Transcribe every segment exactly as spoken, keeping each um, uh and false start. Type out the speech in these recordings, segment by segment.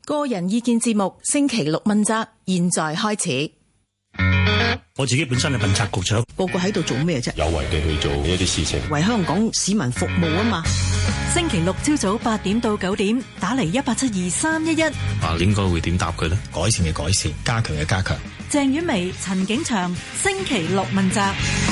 個人意見節目星期六問責，現在開始。 我自己本身係問責局長， 個個喺度做咩啫？ 有為地去做一啲事情， 為香港市民服務啊嘛。 星期六朝早八點到九點，打嚟一八七二三一一。 啊，應該會點答佢呢？ 改善嘅改善，加強嘅加強。 鄭婉薇、陳景祥，星期六問責。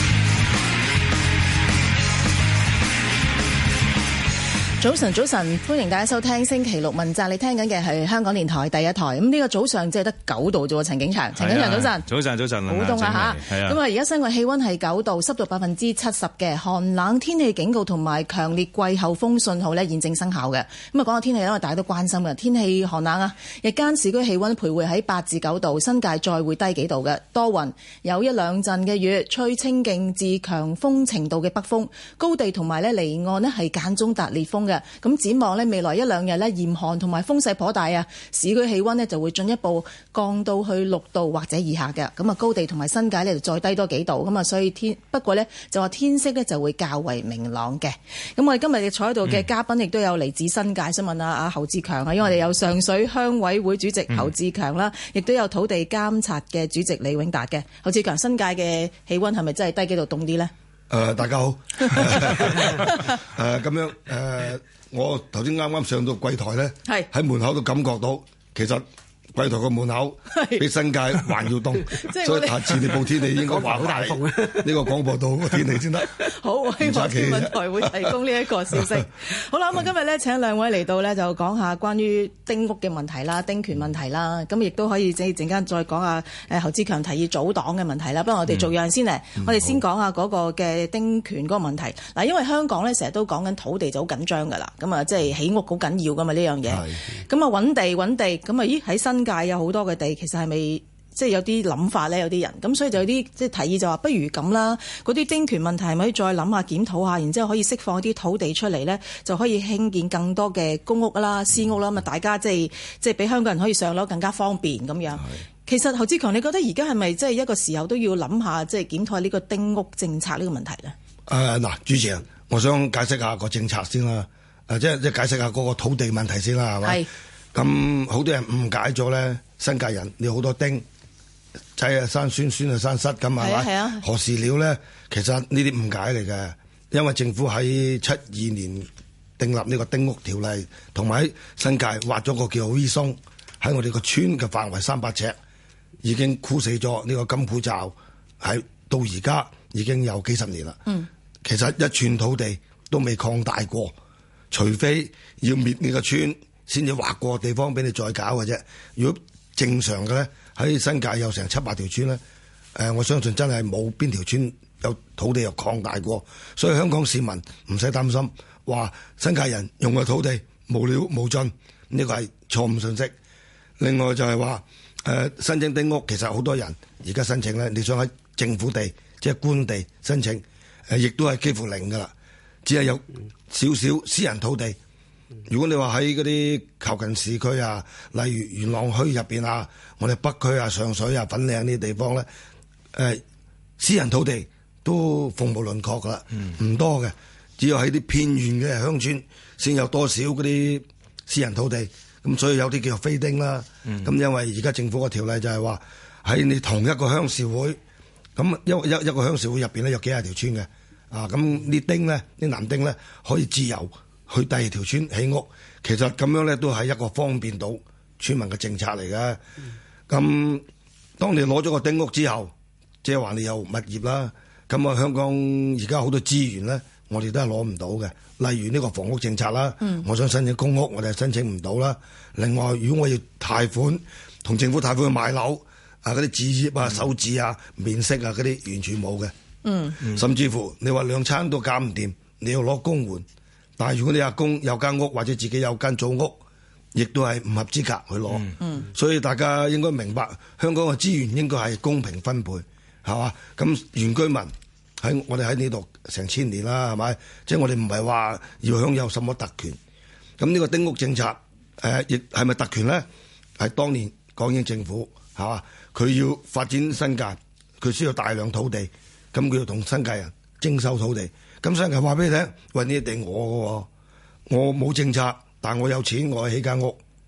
早晨，早晨，歡迎大家收聽星期六問責。你聽緊嘅係香港電台第一台。咁呢個早上只係得九度啫喎，陳景祥。陳景祥，早晨。 早晨，早晨。 好凍啊嚇！咁啊，而家室外氣溫係九度，濕度百分之七十嘅寒冷天氣警告同埋強烈季候風信號呢現正生效嘅。咁啊，講下天氣因為大家都關心嘅天氣寒冷啊。日間市區氣溫徘徊喺八至九度，新界再會低幾度嘅。多雲，有一兩陣嘅雨，吹清勁至強風程度嘅北風，高地同埋呢離岸呢係間中達烈風嘅。咁展望呢未來一兩日呢嚴寒同埋風勢頗大啊，市區氣溫呢就會進一步降到去六度或者以下嘅。咁啊，高地同埋新界呢就再低多幾度。咁啊，所以天不過呢就話天色呢就會較為明朗嘅。咁我哋今日坐喺度嘅嘉賓亦都有嚟自新界，想問下阿侯志強啊，因為我哋有上水鄉委會主席侯志強啦，亦都有土地監察嘅主席李永達嘅。侯志強，新界嘅氣溫係咪真係低幾度凍啲呢？ 誒、呃，大家好。誒，咁樣誒、呃，我頭先啱啱上到櫃台咧，係喺門口都感覺到，其實櫃台個門口比新界還要凍，所以下次你報天氣應該話好大風呢個廣播道個天氣先得。 好，希望天文台會提供呢一個消息。好啦，咁啊今日咧請兩位嚟到咧就講下關於丁屋嘅問題啦、丁權問題啦，咁亦都可以即係陣間再講下誒侯志強提議組黨嘅問題啦。不過我哋做樣先咧，嗯、我哋先講下嗰個嘅丁權嗰個問題。嗱，因為香港咧成日都講緊土地就好緊張㗎啦，咁啊即係起屋好緊要㗎嘛呢樣嘢。咁啊揾地揾地，咁啊咦喺新界有好多嘅地，其實係咪即係有啲諗法咧？有啲人咁，所以就有啲即係提議就話，不如咁啦，嗰啲丁權問題係咪可以再諗下檢討下，然之後可以釋放啲土地出嚟咧，就可以興建更多嘅公屋啦、私屋啦，咁啊大家即係即係俾香港人可以上樓更加方便咁樣。其實侯志強，你覺得而家係咪即係一個時候都要諗下，即係檢討下呢個丁屋政策呢個問題咧？ 誒嗱、呃，主持人，我想解釋下個政策先啦，誒即係即係解釋下嗰個土地問題先啦，係咪？係。咁好多人誤解咗咧，新界人你好多丁仔啊，生孫孫啊，生虱咁係咪？係啊。何時了咧？其實呢啲誤解嚟嘅，因為政府喺七二年訂立呢個丁屋條例，同埋喺新界劃咗個叫 V 松，喺我哋個村嘅範圍三百尺，已經箍死咗呢個金鋪罩，喺到而家已經有幾十年啦。嗯。其實一寸土地都未擴大過，除非要滅呢個村，先至劃過地方俾你再搞嘅啫。如果正常嘅咧，喺新界有成七八條村咧，誒、呃，我相信真係冇邊條村有土地又擴大過。所以香港市民唔使擔心，話新界人用嘅土地無了無盡，呢個係錯誤信息。另外就係話，誒、呃，申請丁屋其實好多人而家申請咧，你想喺政府地即係官地申請，誒、呃，亦都係幾乎零噶啦，只係有少少私人土地。如果你話喺嗰啲靠近市區啊，例如元朗區入邊啊，我哋北區啊、上水啊、粉嶺呢啲地方咧，誒、呃，私人土地都鳳毛麟角噶啦，唔、嗯、多嘅，只有喺啲偏遠嘅鄉村先有多少嗰啲私人土地，咁所以有啲叫做飛丁啦。咁、嗯、因為而家政府個條例就係話喺你同一個鄉事會，咁一一一個鄉事會入邊咧有幾廿條村嘅，啊，咁啲丁咧，啲男丁咧可以自由去第二條村起屋，其實咁樣咧都係一個方便到村民嘅政策嚟嘅。咁、嗯、當你攞咗個丁屋之後，即係話你有物業啦，咁啊香港而家好多資源咧，我哋都係攞唔到嘅。例如呢個房屋政策啦，嗯、我想申請公屋，我哋係申請唔到啦。另外，如果我要貸款，同政府貸款去買樓，啊嗰啲置業啊、首置啊、免息啊嗰啲完全冇嘅。嗯，甚至乎你話兩餐都搞唔掂，你要攞公援。但係如果你阿公有間屋或者自己有間祖屋，亦都係唔合資格去攞。嗯，所以大家應該明白香港嘅資源應該係公平分配，係嘛？咁原居民喺我哋喺呢度成千年啦，係咪？即係我哋唔係話要享有什麼特權。咁呢個丁屋政策誒，亦係咪特權咧？係當年港英政府係嘛？佢要發展新界，佢需要大量土地，咁佢要同新界人徵收土地。咁新界話俾你聽，喂，呢啲地我嘅喎，我冇政策，但我有錢，我起間屋，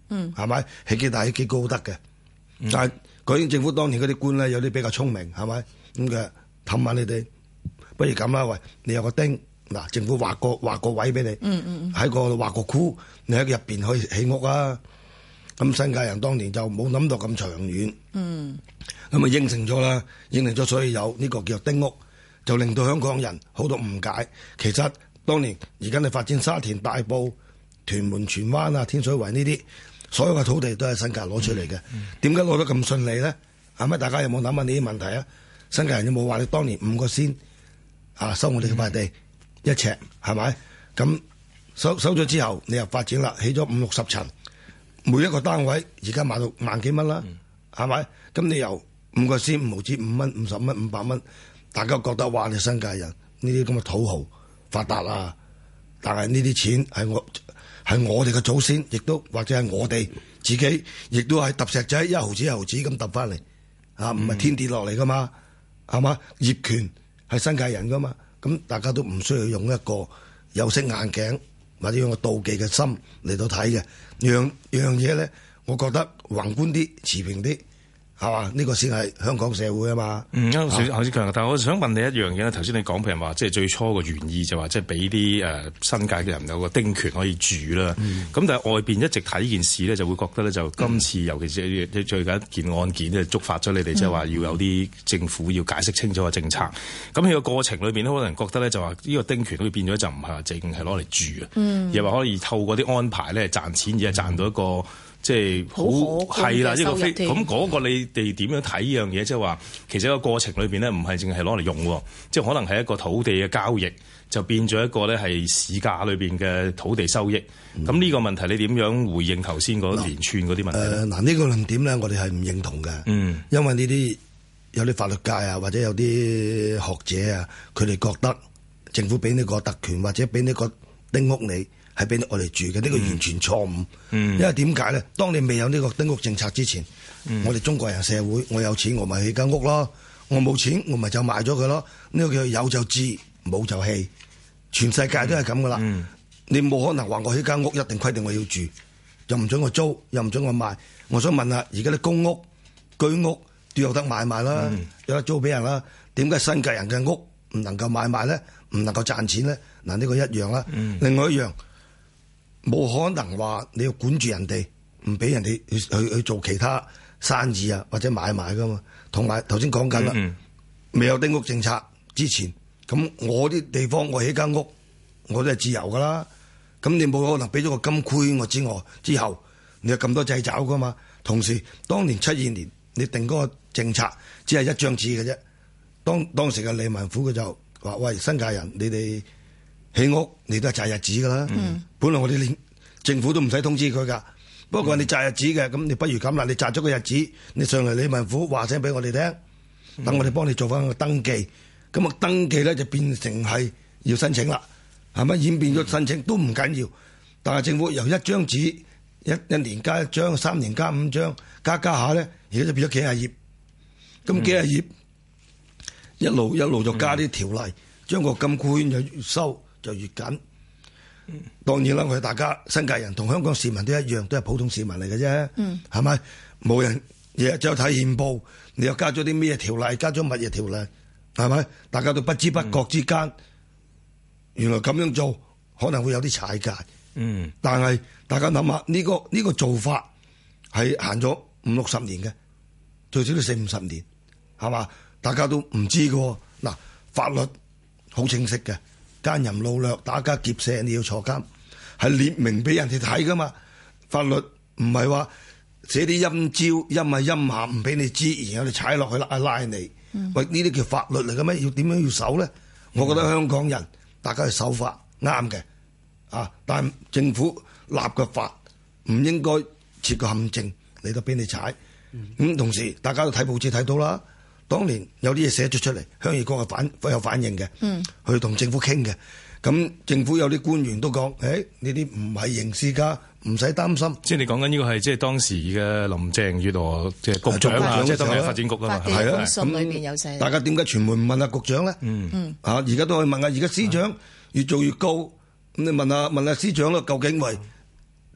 嗯， 係咪起幾大起幾高都得嘅？嗯、但係港英政府當年嗰啲官咧，有啲比較聰明，係咪咁嘅氹下你哋？不如咁啦，喂，你有個丁嗱，政府劃個劃個位俾你，嗯嗯喺個劃個箍，你喺入邊可以起屋啊。咁新界人當年就冇諗到咁長遠，嗯，咁啊應承咗啦，應承咗，所以有呢個叫做丁屋，就令到香港人好多誤解。其實當年而家你發展沙田、大埔、屯門、荃灣啊、天水圍呢啲，所有嘅土地都係新界攞出嚟嘅。點解攞得咁順利咧？係咪大家有冇諗下呢啲問題啊？新界人有冇話你當年五個仙啊收我哋嘅塊地、嗯、一尺係咪？咁收收咗之後，你又發展啦，起咗五六十層。每一個單位而家賣到萬幾蚊啦，係咪、嗯？咁你由五個先五毫紙五蚊、五十蚊、五百蚊，大家覺得哇！你新界人呢啲咁嘅土豪發達啊！但係呢啲錢係我係我哋嘅祖先，亦都或者係我哋自己，亦都係揼石仔一毫紙一毫紙咁揼翻嚟啊！唔係天跌落嚟噶嘛，係嘛？業權係新界人噶嘛，咁大家都唔需要用一個有色眼鏡或者用個妒忌嘅心嚟到睇嘅。樣樣嘢咧，我覺得宏觀啲、持平啲，係嘛？呢個先係香港社會啊嘛。嗯， 啱先侯志強，但係我想問你一樣嘢咧。頭先你講譬如話，即係最初個原意就話，即係俾啲誒新界嘅人有個丁權可以住啦。咁、嗯、但係外邊一直睇呢件事咧，就會覺得咧，就今次、嗯、尤其是最近一件案件咧，觸發咗你哋，即係話要有啲政府要解釋清楚個政策。咁喺個過程裏邊咧，可能人覺得咧就話呢個丁權好似變咗就唔係話淨係攞嚟住啊，嗯、而係話可以透過啲安排咧賺錢，而係賺到一個。即係好係啦，呢個非咁嗰個你哋點樣睇呢樣嘢？即係話其實個過程裏邊咧，唔係淨係攞嚟用，即係可能係一個土地嘅交易，就變咗一個咧係市價裏邊嘅土地收益。咁呢、嗯、個問題你點樣回應頭先嗰連串嗰啲問題？誒嗱、呃，呢、呢個論點咧，我哋係唔認同嘅。嗯，因為呢啲有啲法律界啊，或者有啲學者啊，佢哋覺得政府俾呢個特權或者俾呢個丁屋你。係俾我哋住嘅，呢、這個完全錯誤。嗯、因為點解咧？當你未有呢個丁屋政策之前，嗯、我哋中國人社會，我有錢我咪起間屋咯，我冇錢我咪就賣咗佢咯。呢、這個叫有就置，冇就棄。全世界都係咁噶啦。嗯、你冇可能話我起間屋一定規定我要住，又唔准我租，又唔准我賣。我想問下，而家啲公屋、居屋都有得買賣啦，嗯、有得租俾人啦。點解新界人嘅屋唔能夠買賣咧？唔能夠賺錢咧？嗱，呢個一樣啦。嗯、另外一樣。冇可能話你要管住人哋，唔俾人哋去去去做其他生意啊，或者買賣噶嘛。同埋頭先講緊啦，嗯嗯未有丁屋政策之前，咁我啲地方我起間屋，我都係自由噶啦。咁你冇可能俾咗個金盔我之外之後，你有咁多掣肘噶嘛？同時，當年七二年你定嗰個政策只係一張紙嘅啫。當當時嘅李文虎佢就話：喂，新界人，你哋起屋你都係擇日子噶啦。嗯、本來我哋連政府都唔使通知佢噶，不過你擇日子嘅，咁你不如咁啦，你擇咗個日子，你上嚟李文虎話聲俾我哋聽，等我哋幫你做翻個登記。咁啊登記咧就變成係要申請啦，係咪演變咗申請都唔緊要？但係政府由一張紙一一年加一張，三年加五張，加加下咧，而家就變咗幾廿頁。咁幾廿頁、嗯、一路一路就加啲條例，將個金箍就越收就越緊。當然啦，我哋大家新界人同香港市民都一樣，都係普通市民嚟嘅啫，係咪、嗯？冇人日日就睇憲報，你又加咗啲咩條例，加咗乜嘢條例，係咪？大家都不知不覺之間，嗯、原來咁樣做可能會有啲踩界。嗯，但係大家諗下呢個呢、呢個做法係行咗五六十年嘅，最少都四五十年，係嘛？大家都唔知嘅。嗱，法律好清晰嘅。奸淫擄掠、打家劫舍，你要坐監，係列明俾人哋睇噶嘛？法律唔係話寫啲陰招、陰啊陰下唔俾你知，然後你踩落去拉拉你。嗯、喂，呢啲叫法律嚟嘅咩？要點樣要守咧？嗯、我覺得香港人大家係守法啱嘅，啊！但係政府立嘅法唔應該設個陷阱嚟到俾你踩。咁、嗯嗯、同時大家都睇報紙睇到啦。當年有啲嘢寫咗出嚟，鄉議局係反有反應嘅，嗯、去同政府傾嘅。咁政府有啲官員都講：，誒呢啲唔係刑事㗎，唔使擔心。即係你講緊呢個係即係當時嘅林鄭月娥即係局長啊，即係當時發展局啊嘛。係啊，信裏邊有寫。大家點解傳媒唔問下局長咧？嗯嗯。啊，而家都可以問下，而家司長越做越高，咁你問下問下司長啦，究竟喂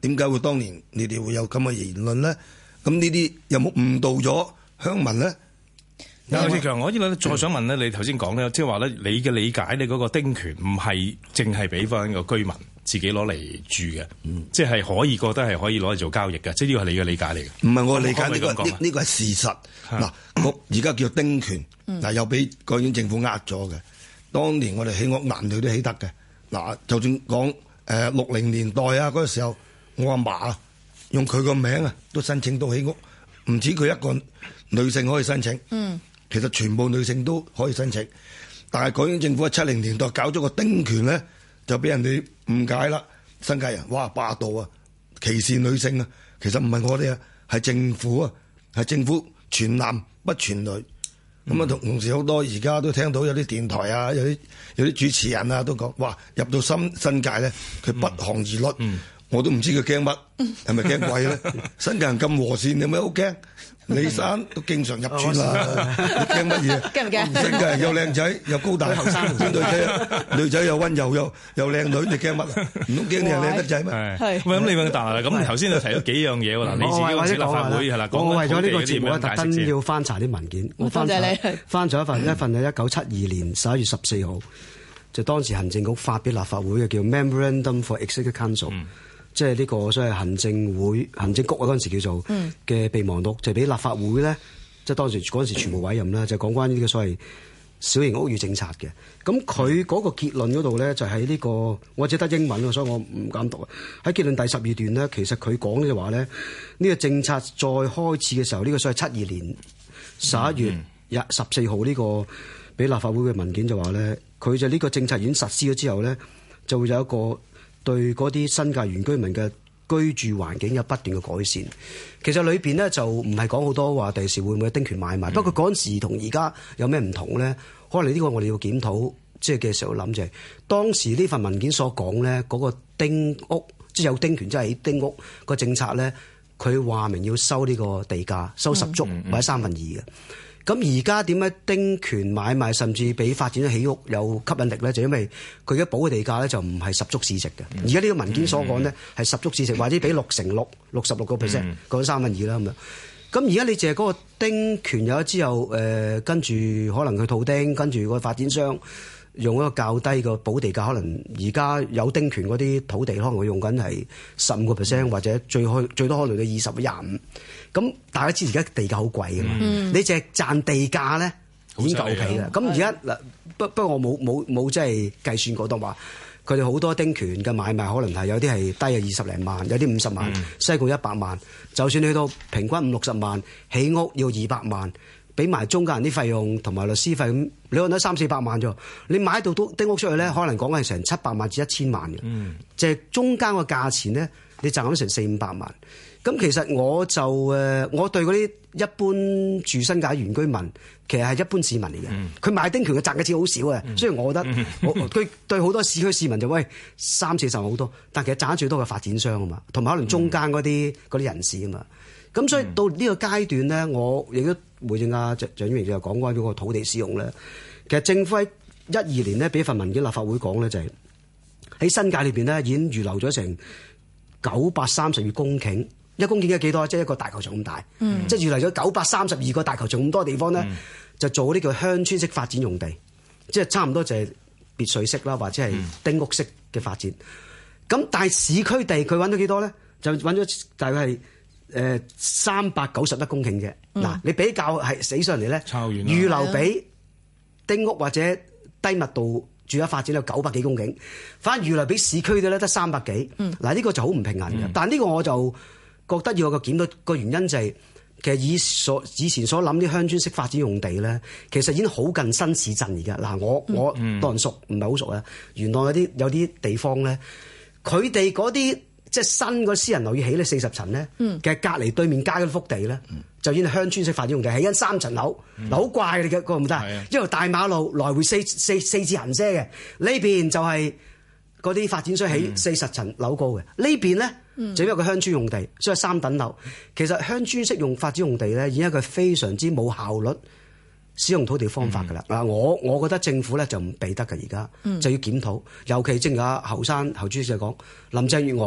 點解會當年你哋會有咁嘅言論咧？咁呢啲有冇誤導咗鄉民咧？ 劉志強，我呢個再想問咧，你頭先講咧，即係話咧，你嘅理解，你嗰個丁權唔係淨係俾翻個居民自己攞嚟住嘅，嗯、即係可以覺得係可以攞嚟做交易嘅，即係呢個係你嘅理解嚟嘅。唔係我理解呢、呢個呢呢個係事實。嗱、啊，我而家叫丁權，嗱、嗯、又俾國院政府呃咗嘅。當年我哋起屋男女都起得嘅。嗱，就算講誒六零年代啊嗰個時候，我阿嫲啊用佢個名啊都申請到起屋，唔止佢一個女性可以申請。嗯。其實全部女性都可以申請，但係港英政府喺七零年代搞咗個丁權咧，就俾人哋誤解啦。新界人哇霸道啊，歧視女性啊，其實唔係我哋啊，係政府啊，係政府全男不全女。咁啊、嗯，同同時好多而家都聽到有啲電台啊，有啲有啲主持人啊都講，哇入到新新界咧，佢不寒而慄，嗯、我都唔知佢驚乜，係咪驚鬼咧？新界人咁和善，你有咩好驚？李生都經常入村啦，你驚乜嘢？ 驚唔驚？ 新界人又靚仔又高大，後生女仔女仔又溫柔又又靚女，你驚乜啊？唔通驚你係靚得仔咩？ 係喂，咁你問但係咁頭先就提咗幾樣嘢喎嗱，你自己嗰次立法會係啦， 我為咗呢個節目特登要翻查啲文件，我翻查翻咗一份一份係一九七二年十一月十四號，就當時行政局發俾立法會嘅叫 Memorandum for Executive Council。嗯即係呢個所謂行政會、行政局啊嗰陣時叫做嘅備忘錄，就俾立法會咧，即係當時嗰陣時全部委任啦，就講關於呢個所謂小型屋宇政策嘅。咁佢嗰個結論嗰度咧，就喺呢個我只得英文啊，所以我唔敢讀啊。喺結論第十二段咧，其實佢講就話咧，呢個政策再開始嘅時候，呢個所謂七二年十一月廿十四號呢個俾立法會嘅文件就話咧，佢就呢個政策已經實施咗之後咧，就會有一個對嗰啲新界原居民嘅居住環境有不斷嘅改善。其實裏邊呢，就唔係講好多話第時會唔會丁權買賣，嗯、不過嗰陣時同而家有咩唔同咧？可能呢個我哋要檢討，即係嘅時候諗就係、是、當時呢份文件所講咧，嗰、那個丁屋即係有丁權，即係丁屋個政策咧，佢話明要收呢個地價，收十足、嗯嗯、或者三分二嘅。咁而家點解丁權買賣甚至比發展起屋有吸引力咧？就因為佢而家補嘅地價咧就唔係十足市值嘅。而家呢個文件所講咧係十足市值，或者比六成六六十六個 percent，講三分二啦咁樣。咁而家你淨係嗰個丁權有咗之後，誒、呃、跟住可能佢套丁，跟住個發展商用一個較低個補地價，可能而家有丁權嗰啲土地可能會用緊係十五個 percent，或者最開最多可能到二十、廿五。咁大家知而家地價好貴㗎嘛？嗯、你淨係賺地價咧已經夠皮啦。咁而家嗱，不不過我冇冇冇即係計算過，當話佢哋好多丁權嘅買賣，可能係有啲係低啊二十零萬，有啲五十萬，嗯、西貢一百萬。就算去到平均五六十萬，起屋要二百萬，俾埋中間人啲費用同埋律師費，咁你可能得三四百萬啫。你買到都丁屋出去咧，可能講係成七百萬至一千萬嘅。嗯、即係中間個價錢咧，你賺咗成四五百萬。咁其實我就誒，我對嗰啲一般住新界原居民，其實係一般市民嚟嘅。佢、嗯、買丁權嘅賺嘅錢好少嘅，雖然、嗯、我覺得，嗯、我佢對好多市區市民就喂三四十萬好多，但其實賺得最多嘅發展商啊嘛，同埋可能中間嗰啲嗰啲人士啊嘛。咁所以到呢個階段咧，我亦都回應阿蔣蔣婉薇就講關於嗰個土地使用咧。其實政府喺一二年呢，俾份文件立法會講咧，就係、是、喺新界裏邊呢，已經預留咗成九百三十二公頃。一公頃嘅幾多？即係一個大球場咁大，嗯、即係預留咗九百三十二個大球場咁多地方咧，嗯、就做呢個鄉村式發展用地，即係差唔多就係別墅式啦，或者係丁屋式嘅發展。咁、嗯、但係市區地佢揾到幾多咧？就揾咗大概係誒三百九十一公頃嘅。嗱、嗯，你比較係死上嚟咧，預留俾丁屋或者低密度住宅發展有九百幾公頃，反而預留俾市區嘅咧得三百幾。嗱、嗯，呢個就好唔平衡嘅。嗯、但係呢個我就覺得要有個檢討個原因就係、是，其實以所以前所諗啲鄉村式發展用地咧，其實已經好近新市鎮而家。嗱，我我當人熟唔係好熟啊。元朗有啲有啲地方咧，佢哋嗰啲即係新個私人樓宇起咧四十層咧，嗯、其實隔離對面街嗰幅地咧，嗯、就已經係鄉村式發展用地，起緊三層樓，嗱好、嗯、怪你嘅個唔得，的一條大馬路來回四四四字行車嘅，呢邊就係嗰啲發展商起四十層樓高嘅，呢、嗯、邊咧。就因為個鄉村用地，所以三等樓。其實鄉村式用發展用地咧，已經係一個非常之冇效率使用土地方法㗎啦。嗱、嗯，我我覺得政府咧就唔避得㗎，而家、嗯、就要檢討。尤其正如阿侯生侯主席講，林鄭月娥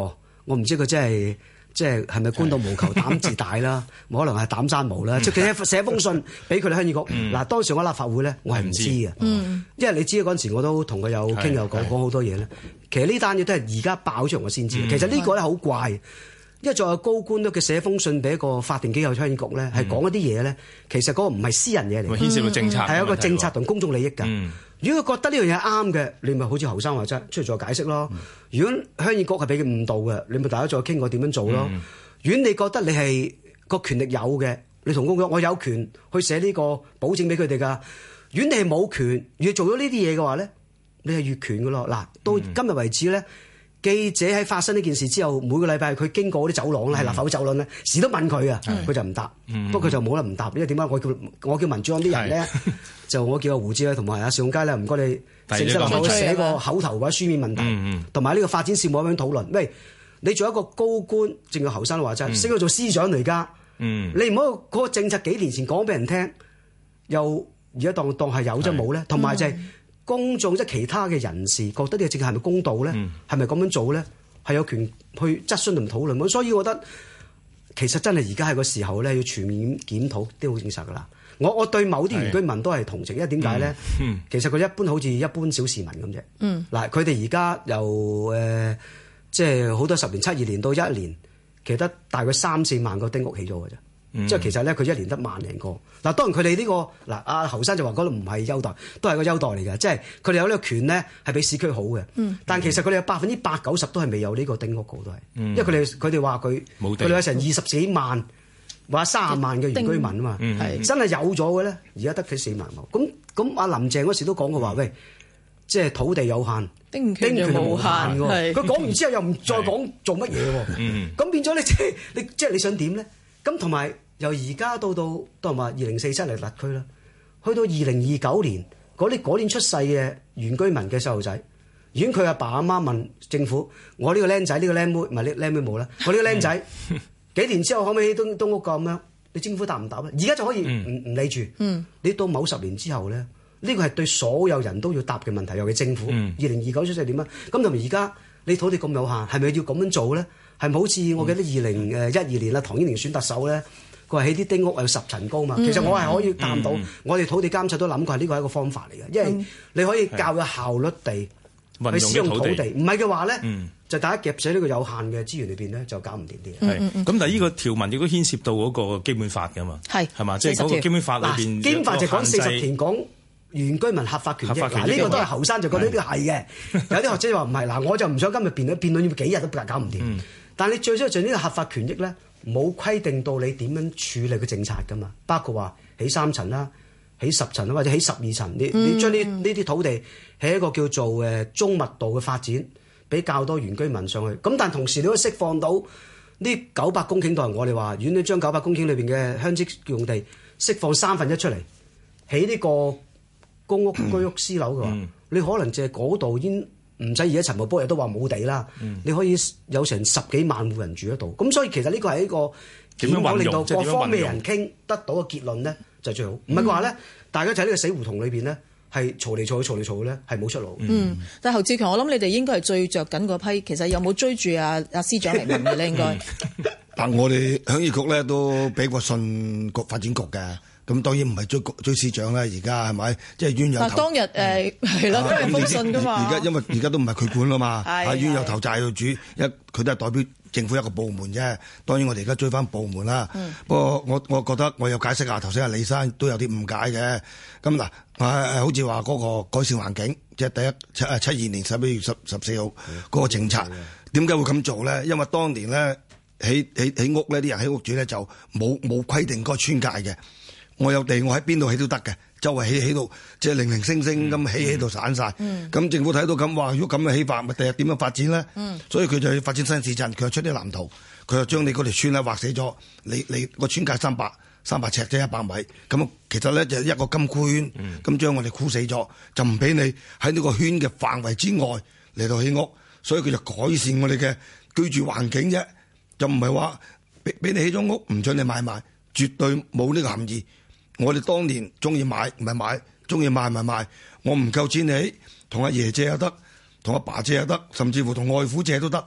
我唔知佢真係即係係咪官到無求膽自大啦，可能係膽生毛啦。即係佢寫封信俾佢哋鄉議局。嗱，當時我立法會咧，我係唔知嘅，因為你知嗰陣時我都同佢有傾有講講好多嘢咧。其實呢單嘢都係而家爆出嚟我先知。其實呢個咧好怪，因為再有高官都佢寫封信俾一個法定機構鄉議局咧，係講一啲嘢咧，其實嗰個唔係私人嘢嚟， 牽涉到政策， 係一個政策同公眾利益㗎。如果佢覺得呢樣嘢啱嘅，你咪好似侯生話齋出嚟再解釋咯。如果鄉議局係俾佢誤導嘅，你咪大家再傾過點樣做咯。如果你覺得你係個權力有嘅，你同公講我有權去寫呢個保證俾佢哋㗎。如果你係冇權，如果做咗呢啲嘢嘅話咧，你係越權㗎咯。嗱，到今日為止咧。記者喺發生呢件事之後，每個禮拜佢經過嗰啲走廊咧，係、嗯、立法會走廊咧，時都問佢啊，佢、嗯、就唔答。嗯、不過佢就冇得唔答，因為點解我叫我叫民主黨啲人咧，就我叫阿胡志偉同埋阿邵永佳咧，唔該你正式立法會寫個口頭或者書面問題，同埋呢個發展事務咁樣討論。喂，你做一個高官，正如侯生話齋，升咗做司長嚟㗎，嗯、你唔好嗰個政策幾年前講俾人聽，又而家當當係有啫冇咧，同埋就係、是。公眾即係其他嘅人士覺得呢個政策係咪公道咧？係咪咁樣做咧？係有權去質詢同討論。咁所以我覺得其實真係而家係個時候咧，要全面檢討啲好政策噶啦。我我對某啲原居民都係同情，因為點解咧？嗯、其實佢一般好似一般小市民咁啫。嗱、嗯，佢哋而家由誒即係好多十年、七二年到一年，其實得大概三四萬個丁屋起咗嘅啫。嗯、即係其實咧，佢一年得萬零個。嗱，當然佢哋呢個嗱，阿侯生就話嗰度唔係優待，都係個優待嚟嘅。即係佢哋有呢個權咧，係比市區好嘅。嗯、但其實佢哋有百分之八九十都係未有呢個丁屋個都係，嗯、因為佢哋佢哋話佢佢哋有成二十幾萬或者三十萬嘅原居民啊嘛，係真係有咗嘅咧，而家得佢四萬畝。咁咁阿林鄭嗰時都講過話，喂，即係土地有限，丁權就無限喎。佢講完之後又唔再講做乜嘢喎？咁、嗯、變咗你即係你即係你想點咧？咁同埋。由而家到到都係話二零四七嚟立區啦，去到二零二九年嗰啲嗰年出世嘅原居民嘅細路仔，如果佢阿爸阿媽問政府：我呢個僆仔呢個僆妹唔係呢僆妹冇啦，我呢個僆仔幾年之後可唔可以起東東屋咁樣？你政府答唔答咧？而家就可以唔唔理住。嗯、你到某十年之後咧，呢個係對所有人都要答嘅問題，尤其政府。二零二九出世點啊？咁同埋而家你土地咁有限，係咪要咁樣做咧？係咪好似我記得二零誒一二年啦，唐英年選特首咧？佢話起啲丁屋有十層高嘛，其實我係可以探到，嗯、我哋土地監察都諗過係呢個係一個方法嚟嘅，因為你可以較有效率地去使用土地，唔係嘅話咧，嗯、就大家夾死呢個有限嘅資源裏邊咧，就搞唔掂啲嘢。係咁，但係呢個條文亦都牽涉到嗰個基本法㗎嘛，係係嘛，即係嗰個基本法裏邊。基本法就講四十條講原居民合法權益，嗱呢個都係後生就覺得呢個係嘅，有啲學者話唔係，嗱我就唔想今日辯論辯論要幾日都搞唔掂，嗯、但係你最主要就呢個合法權益咧。冇規定到你點樣處理個政策㗎嘛，包括話起三層啦，起十層啦，或者起十二層，你你將呢呢啲土地起一個叫做誒中密度嘅發展，俾較多原居民上去。咁但同時你都釋放到呢九百公頃，當然我哋話，如果你將九百公頃裏邊嘅鄉職用地釋放三分一出嚟，起呢個公屋居屋私樓嘅話，嗯、你可能淨係嗰度已經。唔使而家陳茂波亦都話冇地啦，嗯、你可以有成十幾萬戶人住喺度，咁所以其實呢個係一個點樣令到各方面人傾得到嘅結論咧，就最好。唔係嘅話咧，大家就喺呢個死胡同裏邊咧，係嘈嚟嘈去嘈嚟嘈去咧，係冇出路。嗯，但係侯志強，我諗你哋應該係最着緊嗰批，其實有冇追住阿阿司長嚟問嘅咧？應該。 但我哋鄉議局咧都俾過信局發展局嘅。咁當然唔係追追司長啦，而家係咪？即係冤有頭。但當日誒係咯，都係封信噶嘛。而家因為而家都唔係佢管啦嘛，啊冤有頭債有主，一佢都係代表政府一個部門啫。當然我哋而家追翻部門啦。嗯、不過我我覺得我有解釋下，頭先阿李生都有啲誤解嘅。咁嗱，誒好似話嗰個改善環境，即係第一七誒七二年十一月十十四號嗰個政策，點解、嗯、會咁做咧？因為當年咧起起起屋咧，啲人起屋主咧就冇冇規定嗰個村界嘅。我有地，我喺邊度起都得嘅，周圍起起到即係零零星星咁起起到散晒。咁、嗯、政府睇到咁話，如果咁嘅起法，咪第日點樣發展咧？嗯、所以佢就要發展新市鎮，佢又出啲藍圖，佢又將你嗰條村咧劃死咗，你你個村界三百三百尺即係一百米，咁其實咧就一個金箍圈，咁將、嗯、我哋箍死咗，就唔俾你喺呢個圈嘅範圍之外嚟到起屋，所以佢就改善我哋嘅居住環境啫，就唔係話俾俾你起咗屋唔准你買賣，絕對冇呢個含義。我哋當年中意買唔係買，中意賣唔係賣。我唔夠錢起，同阿爺借又得，同阿爸借又得，甚至乎同外父借都得。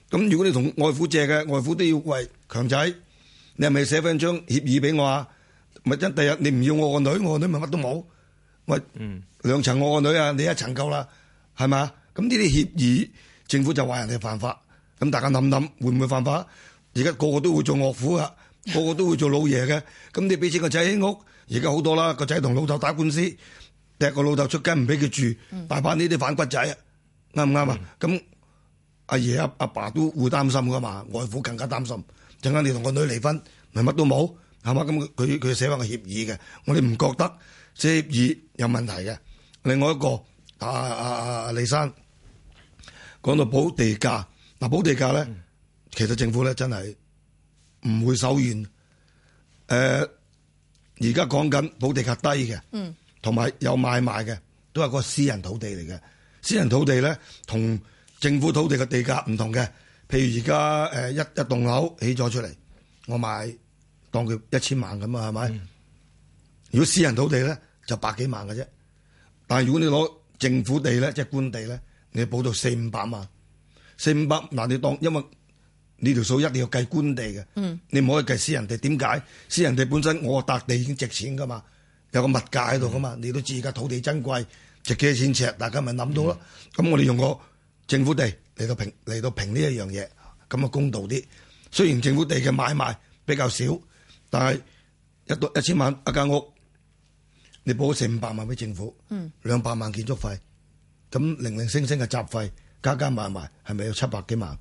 咁如果你同外父借嘅，外父都要喂強仔，你係咪寫翻張協議俾我啊？咪真第日你唔要我個女，我個女咪乜都冇。喂，嗯、兩層我個女啊，你一層夠啦，係咪？咁呢啲協議，政府就話人哋犯法。咁大家諗諗，會唔會犯法？而家個個都會做岳父噶，個個都會做老爺嘅。咁你俾錢個仔起屋，而家好多啦，個仔同老豆打官司，踢個老豆出街唔俾佢住，嗯、大把呢啲反骨仔啊，啱唔啱啊？咁阿爺阿阿爸都會擔心噶嘛，外父更加擔心。陣間你同個女離婚，咪乜都冇，係嘛？咁佢佢寫翻個協議嘅，我哋唔覺得協議有問題嘅。另外一個阿阿阿李生講到補地價，嗱補地價咧，嗯、其實政府咧真係唔會手軟。誒、呃，而家講緊補地價低嘅，同埋、嗯、有買賣嘅，都係個私人土地嚟嘅。私人土地咧，同政府土地嘅地價唔同嘅。譬如而家誒一一棟樓起咗出嚟，我買當佢一千萬咁啊，係咪？嗯、如果私人土地咧就百幾萬嘅啫，但係如果你攞政府地咧，即係官地咧，你補到四五百萬，四五百嗱你當，因為呢條數一定要計官地嘅，嗯、你唔可以計私人地。點解？私人地本身我笪地已經值錢噶嘛，有個物價喺度噶嘛，嗯、你都知而家土地珍貴，值幾多錢尺，大家咪諗到咯。咁、嗯、我哋用個政府地嚟到平嚟到平呢一樣嘢，咁啊公道啲。雖然政府地嘅買賣比較少，但係一到一千萬一間屋，你補四五百萬俾政府，兩百、嗯、萬建築費，咁零零星星嘅雜費加加埋埋，係咪有七百幾萬？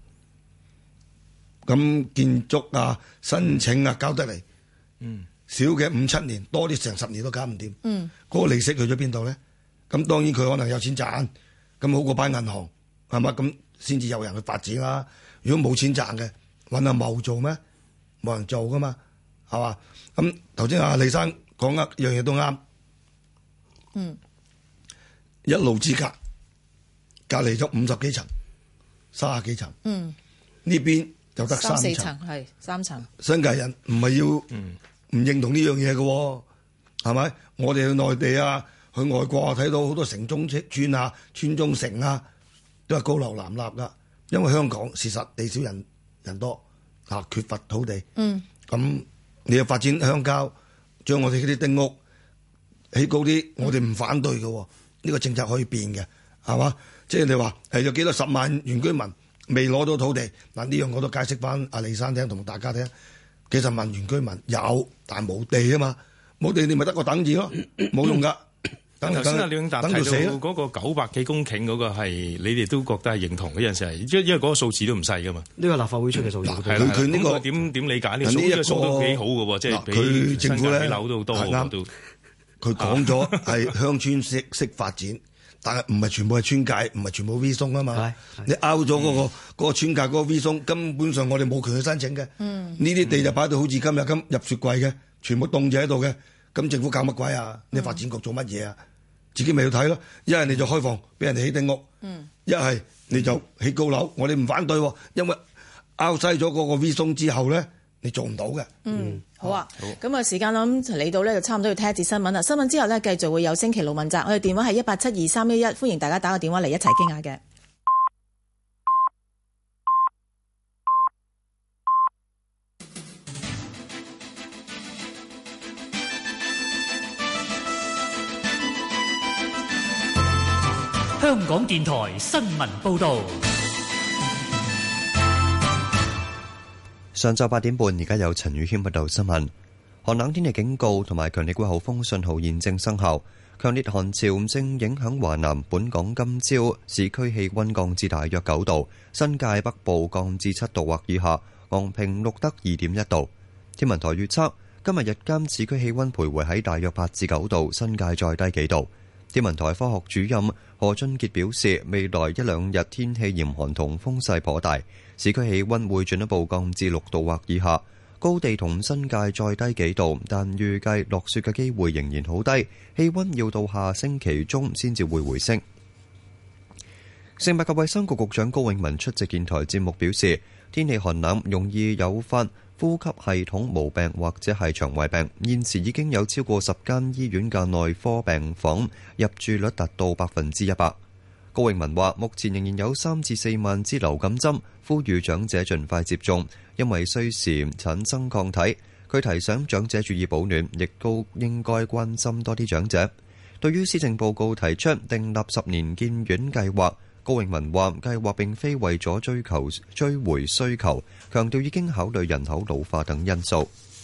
咁建築啊、申請啊交得嚟，嗯、少嘅五七年，多啲成十年都搞唔掂。嗰、嗯、個利息去咗邊度咧？咁當然佢可能有錢賺，咁好過擺銀行。係嘛？咁先至有人去發展啦。如果冇錢賺嘅，揾阿茂做咩？冇人做噶嘛，係嘛？咁頭先阿李生講一樣嘢都啱。嗯，一路之隔，隔離咗五十幾層、三十幾層。嗯，呢邊就得三層， 係三層。 新界人唔係要唔、嗯、認同呢樣嘢嘅，係咪？我哋去內地啊，去外國啊，睇到好多城中村啊、村中城啊。都係高樓林立噶，因為香港事實地少人人多嚇，缺乏土地。嗯，咁你又發展鄉郊，將我哋嗰啲丁屋起高啲，嗯、我哋唔反對嘅。呢、呢個政策可以變嘅，係嘛？即係你話係有幾多十萬原居民未攞到土地嗱？呢樣我都解釋翻阿李生聽同大家聽。幾十萬原居民有，但係冇地啊嘛，冇地你咪得個等字咯，冇用噶。 等頭先阿廖永達提到嗰個九百幾公頃嗰個係，你哋都覺得係認同嘅陣時係，因因為嗰個數字都唔細噶嘛。呢個立法會出嘅數字， 係啦。佢呢個點點理解呢個數？呢個數都幾好嘅喎，即係比政府咧樓都多好多。 佢講咗係鄉村式式發展，但係唔係全部係村界，唔係全部 V 松啊嘛。你 out 咗嗰個嗰個村界嗰個 V 松，根本上我哋冇權去申請嘅。呢啲地就擺到好似今日咁入雪櫃嘅，全部凍住喺度嘅。咁政府搞乜鬼啊？你發展局做乜嘢啊？自己咪要睇咯，一係你就開放俾人哋起丁屋，一係、嗯、你就起高樓。我哋唔反對，因為拗西咗嗰個 V 松之後咧，你做唔到嘅。 嗯，好啊，咁啊時間我諗嚟到咧就差唔多要聽一節新聞啦。新聞之後咧繼續會有星期六問責，我哋電話係一八七二三一一，歡迎大家打個電話嚟一齊傾下嘅。 香港電台新聞報道。 上晝八點半，而家有陳宇謙報道新聞。寒冷天氣警告同埋強烈季候風信號現正生效，強烈寒潮正影響華南。本港今朝市區氣溫降至大約九度，新界北部降至七度或以下，昂坪錄得二點一度。天文台預測今日日間市區氣溫徘徊喺大約八至九度，新界再低幾度。天文台科學主任何俊傑表示，未來一兩日天氣嚴寒同風勢頗大，市區氣溫會進一步降至六度或以下，高地同新界再低幾度，但預計落雪嘅機會仍然好低，氣溫要到下星期中先至會回升。食物及衛生局局長高永文出席電台節目表示，天氣寒冷容易誘發呼吸系統毛病或者係腸胃病，現時已經有超過十間醫院嘅內科病房入住率達到百分之一百。 高永文話：目前仍然有三至四萬支流感針，呼籲長者盡快接種，因為需時產生抗體。佢提醒長者注意保暖，亦都應該關心多啲長者。對於施政報告提出訂立十年建院計劃，高永文話：計劃並非為咗追求追回需求，強調已經考慮人口老化等因素。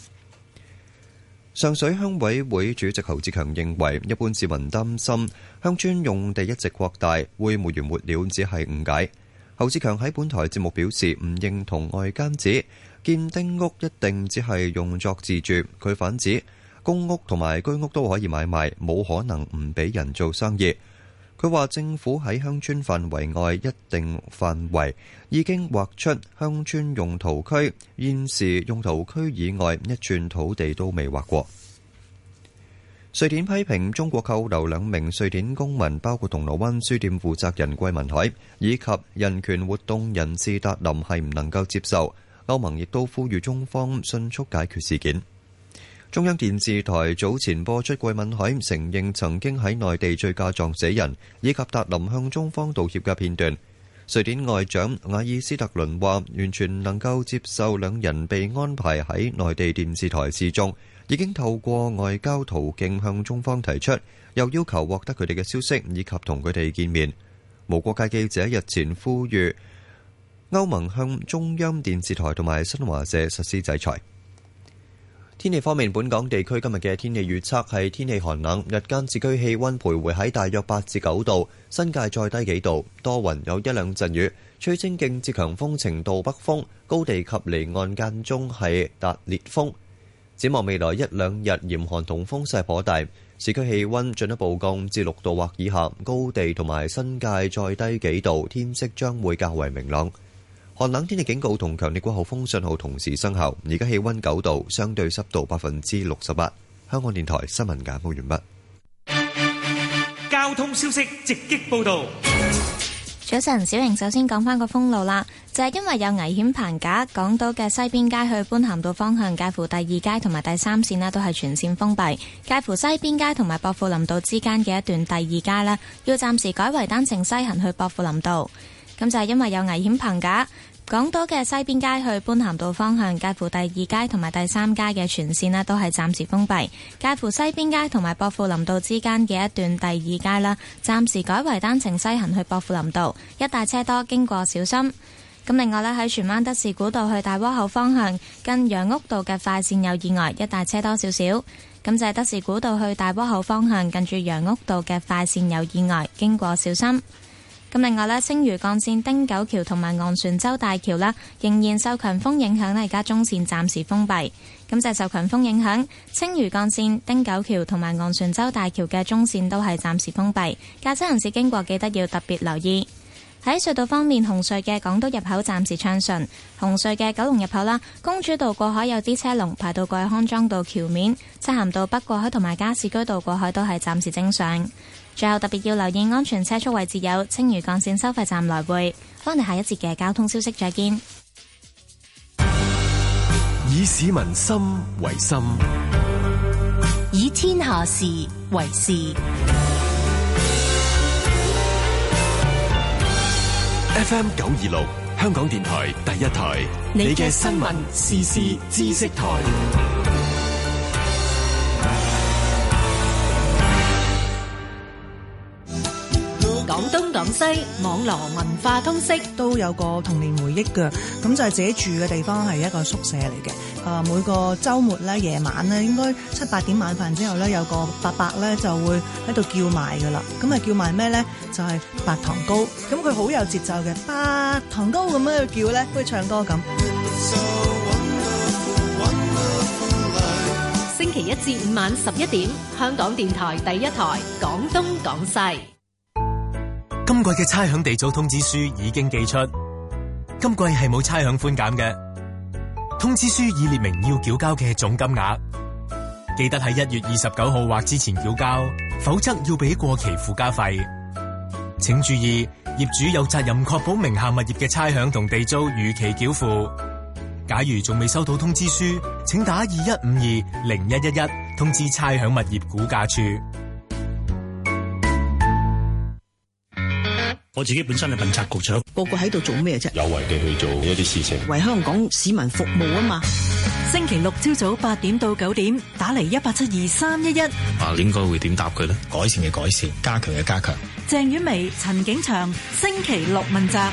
上水鄉委會主席侯志強認為，一般市民擔心鄉村用地一直擴大會沒完沒了，只係誤解。侯志強喺本台節目表示，唔認同外間指建丁屋一定只係用作自住。佢反指公屋同埋居屋都可以買賣，冇可能唔俾人做生意。佢話政府喺鄉村範圍外一定範圍已經劃出鄉村用途區，現時用途區以外一寸土地都未劃過。瑞典批評中國扣留兩名瑞典公民，包括銅鑼灣書店負責人桂民海以及人權活動人士達林，係唔能夠接受。歐盟亦都呼籲中方迅速解決事件。中央電視台早前播出桂民海承認曾經喺內地醉駕撞死人，以及達林向中方道歉嘅片段。瑞典外長瓦爾斯特倫話：完全能夠接受兩人被安排喺內地電視台示眾，已經透過外交途徑向中方提出，又要求獲得佢哋嘅消息以及同佢哋見面。無國界記者日前呼籲歐盟向中央電視台同埋新華社實施制裁。天氣方面，本港地區今日嘅天氣預測係天氣寒冷，日間市區氣溫徘徊喺大約八至九度，新界再低幾度，多雲有一兩陣雨，吹清勁至強風程度北風，高地及離岸間中係達烈風。展望未來一兩日嚴寒同風勢頗大，市區氣溫進一步降至六度或以下，高地同埋新界再低幾度，天色將會較為明朗。寒冷天氣警告同強烈季候風信號同時生效。而家氣溫九度，相對濕度百分之六十八。香港電台新聞簡報完畢。 交通消息直擊報道。 早晨，小瑩首先講翻個封路啦，就係、是、因為有危險棚架，港島嘅西邊街去般咸道方向，介乎第二街同埋第三線呢都係全線封閉。介乎西邊街同埋薄扶林道之間嘅一段第二街呢，要暫時改為單程西行去薄扶林道。咁就係因為有危險棚架，港島嘅西邊街去般咸道方向，介乎第二街同埋第三街嘅全線呢都係暫時封閉。介乎西邊街同埋薄扶林道之間嘅一段第二街啦，暫時改為單程西行去薄扶林道，一帶車多，經過小心。咁另外呢，喺荃灣德士古道去大窩口方向，近楊屋道嘅快線有意外，一帶車多少少。咁就係德士古道去大窩口方向，近住楊屋道嘅快線有意外，經過小心。咁另外呢，青嶼幹線汀九橋同埋昂船洲大橋啦，仍然受強風影響呢，而家中線暫時封閉。咁就係受強風影響，青嶼幹線汀九橋同埋昂船洲大橋嘅中線都係暫時封閉。駕駛人士經過記得要特別留意。喺隧道方面，紅隧嘅港島入口暫時暢順，紅隧嘅九龍入口啦，公主道過海有啲車龍排到過去康莊道橋面，漆咸道北過海同埋加士居道過海都係暫時正常。最後特別要留意安全車速位置有青嶼幹線收費站來回。翻嚟下一節嘅交通消息再見。 以市民心為心， 以天下事為事。 F M 九二六香港電台第一台，你嘅新聞時事知識台。 廣東廣西網絡文化通識都有個童年回憶嘅，咁就係自己住嘅地方係一個宿舍嚟嘅。啊，每個週末咧夜晚咧，應該七八點晚飯之後咧，有個伯伯咧就會喺度叫賣噶啦。咁啊叫賣咩咧？就係白糖糕。咁佢好有節奏嘅，白糖糕咁樣去叫咧，好似唱歌咁。 星期一至五晚十一點，香港電台第一台廣東廣西。 今季嘅差餉地租通知書已經寄出，今季係冇差餉寬減嘅。通知書已列明要繳交嘅總金額，記得喺一月二十九號或之前繳交，否則要俾過期附加費。請注意，業主有責任確保名下物業嘅差餉同地租如期繳付。假如仲未收到通知書，請打二一五二零一一一通知差餉物業估價處。 我自己本身係問責局長， 個個喺度做咩啫？ 有為地去做一啲事情， 為香港市民服務啊嘛。 星期六朝早八點到九點，打嚟一八七二三一一。 啊，應該會點答佢呢？改善嘅改善，加強嘅加強。 鄭婉薇、陳景祥，星期六問責。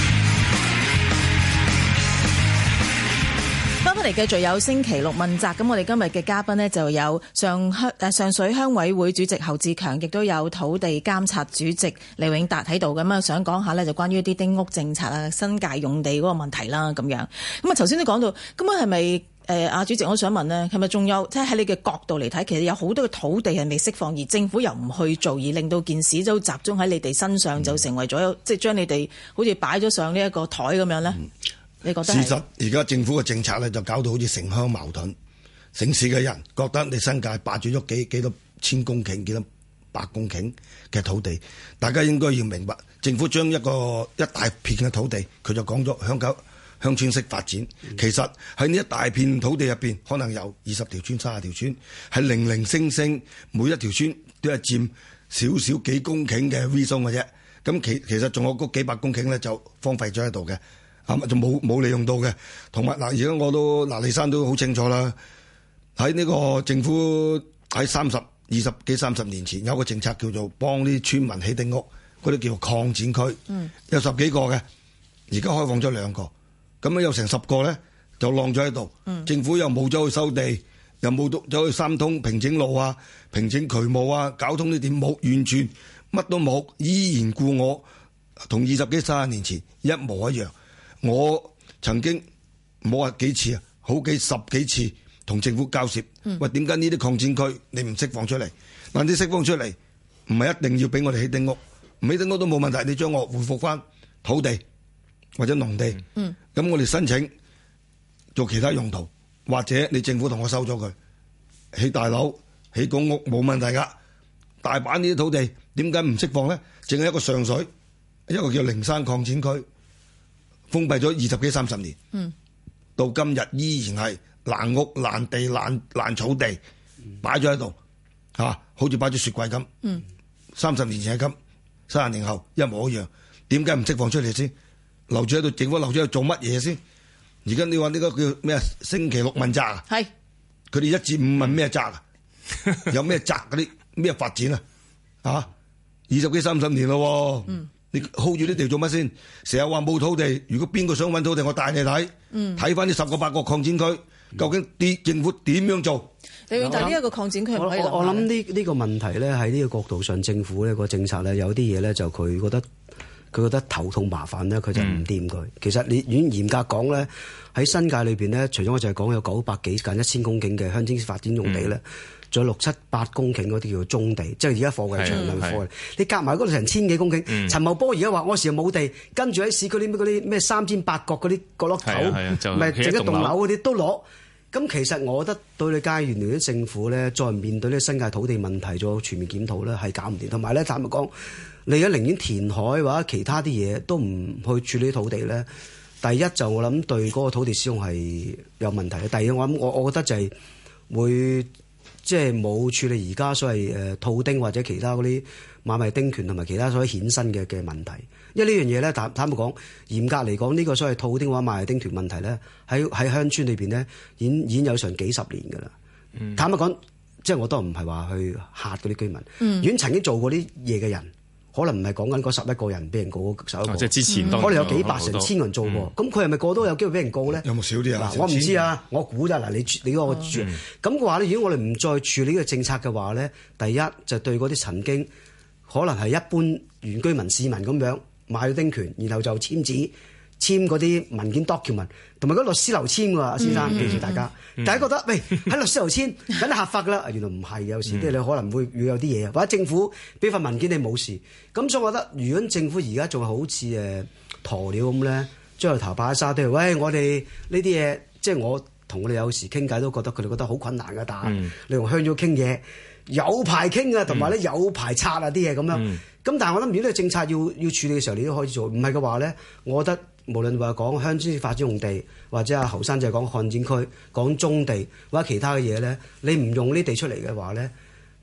翻返嚟繼續有星期六問責，咁我哋今日嘅嘉賓呢，就有上鄉誒上水鄉委會主席侯志強，亦都有土地監察主席李永達喺度，咁啊想講下呢，就關於一啲丁屋政策啊、新界用地嗰個問題啦咁樣。咁啊頭先都講到，咁啊係咪誒阿主席我想問呢，係咪仲有即係喺你嘅角度嚟睇，其實有好多嘅土地係未釋放，而政府又唔去做，而令到件事都集中喺你哋身上，就成為咗、嗯、即係將你哋好似擺咗上呢一個台咁樣呢？嗯你覺得事實而家政府嘅政策咧，就搞到好似城鄉矛盾。城市嘅人覺得你新界霸住咗幾幾多千公頃、幾多百公頃嘅土地，大家應該要明白，政府將一個一大片嘅土地，佢就講咗鄉郊鄉村式發展。嗯、其實喺呢一大片土地入邊，可能有二十條村、三十條村，係零零星星，每一條村都係佔少少幾公頃嘅 V 松嘅啫。咁其其實仲有嗰幾百公頃咧，就荒廢咗喺度嘅。啊！就冇冇利用到嘅，同埋嗱，而家我都嗱，李生都好清楚啦。喺呢個政府喺三十二十幾三十年前有個政策叫做幫啲村民起丁屋，嗰啲叫做擴展區，嗯、有十幾個嘅，而家開放咗兩個，咁樣有成十個咧就晾咗喺度。嗯、政府又冇走去收地，又冇走去三通平整路啊、平整渠務啊、交通呢點冇，完全乜都冇，依然故我，同二十幾三十年前一模一樣。我曾經冇話幾次啊，好幾十幾次同政府交涉，嗯、喂，點解呢啲擴展區你唔釋放出嚟？嗱，你釋放出嚟唔係一定要俾我哋起丁屋，唔起丁屋都冇問題，你將我回復翻土地或者農地，咁、嗯、我哋申請做其他用途，或者你政府同我收咗佢起大樓、起公屋冇問題噶，大把呢啲土地點解唔釋放咧？淨係一個上水，一個叫靈山擴展區。封閉咗二十幾三十年，嗯、到今日依然係爛屋爛地爛爛草地擺咗喺度，嚇、啊，好似擺咗雪櫃咁。三十、嗯、年前係咁，三十年後一模一樣。點解唔釋放出嚟先？留住喺度，政府留住喺度做乜嘢先？而家你話呢個叫咩啊？星期六問責啊？係是，佢哋一至五問咩責啊？有咩責嗰啲咩發展啊？嚇，二十幾三十年咯。嗯你 hold 住啲地做乜先？成日話冇土地，如果邊個想揾土地，我帶你睇，睇翻呢十個八個擴展區，究竟啲政府點樣做？ 你要睇呢一個擴展區唔可以諗。 我我諗呢呢個問題咧，喺呢個角度上，政府呢個政策咧，有啲嘢咧就佢覺得佢覺得頭痛麻煩咧，佢就唔掂佢。嗯、其實你如果嚴格講咧，喺新界裏邊咧，除咗我就係講有九百幾近一千公頃嘅鄉村發展用地咧。嗯仲有六七八公頃嗰啲叫做棕地，即係而家貨櫃場量貨。你夾埋嗰度成千幾公頃。嗯、陳茂波而家話我時又冇地，跟住喺市區啲咩嗰啲咩三尖八角嗰啲角落頭，咪整一棟樓嗰啲都攞。咁其實我覺得對你街原來啲政府咧，再唔面對呢新界土地問題做全面檢討咧，係搞唔掂。同埋咧，坦白講，你而家寧願填海或者其他啲嘢都唔去處理土地咧。第一就我諗對嗰個土地使用係有問題。第二我諗我我覺得就係會。即係冇處理而家所謂誒套丁或者其他嗰啲買賣丁權同埋其他所謂衍生嘅嘅問題，因為呢樣嘢咧坦坦白講，嚴格嚟講呢個所謂套丁或者買賣丁權問題咧，喺喺鄉村裏邊咧，已經已經有成幾十年㗎啦。嗯、坦白講，即係我都唔係話去嚇嗰啲居民，嗯、如果曾經做過啲嘢嘅人。可能唔係講緊嗰十一個人俾人告十一個，即係之前可能有幾百成千人做過，咁佢係咪個個都有機會俾人告咧？ 有冇少啲啊？ 嗱，我唔知啊，我估咋嗱，你你嗰個住咁嘅話咧，如果我哋唔再處理呢個政策嘅話咧，第一就對嗰啲曾經可能係一般原居民市民咁樣買咗丁權，然後就簽字。簽嗰啲文件 document， 同埋嗰律師樓簽㗎，阿先生記住大家。嗯、大家覺得喂喺律師樓簽梗係合法㗎啦，原來唔係，有時即係你可能會會有啲嘢，或者政府俾份文件你冇事。咁所以我覺得，如果政府而家仲係好似誒鴕鳥咁咧，將個頭擺喺沙堆，喂我哋呢啲嘢，即係我同我哋有時傾偈都覺得佢哋覺得好困難㗎，但係、嗯、你同鄉咗傾嘢有排傾啊，同埋咧有排拆啊啲嘢咁樣。咁、嗯、但係我諗，如果呢個政策要要處理嘅時候，你都可以做。唔係嘅話咧，我覺得。無論話講鄉村發展用地，或者阿侯生就係講擴展區、講棕地或者其他嘅嘢咧，你唔用呢地出嚟嘅話咧，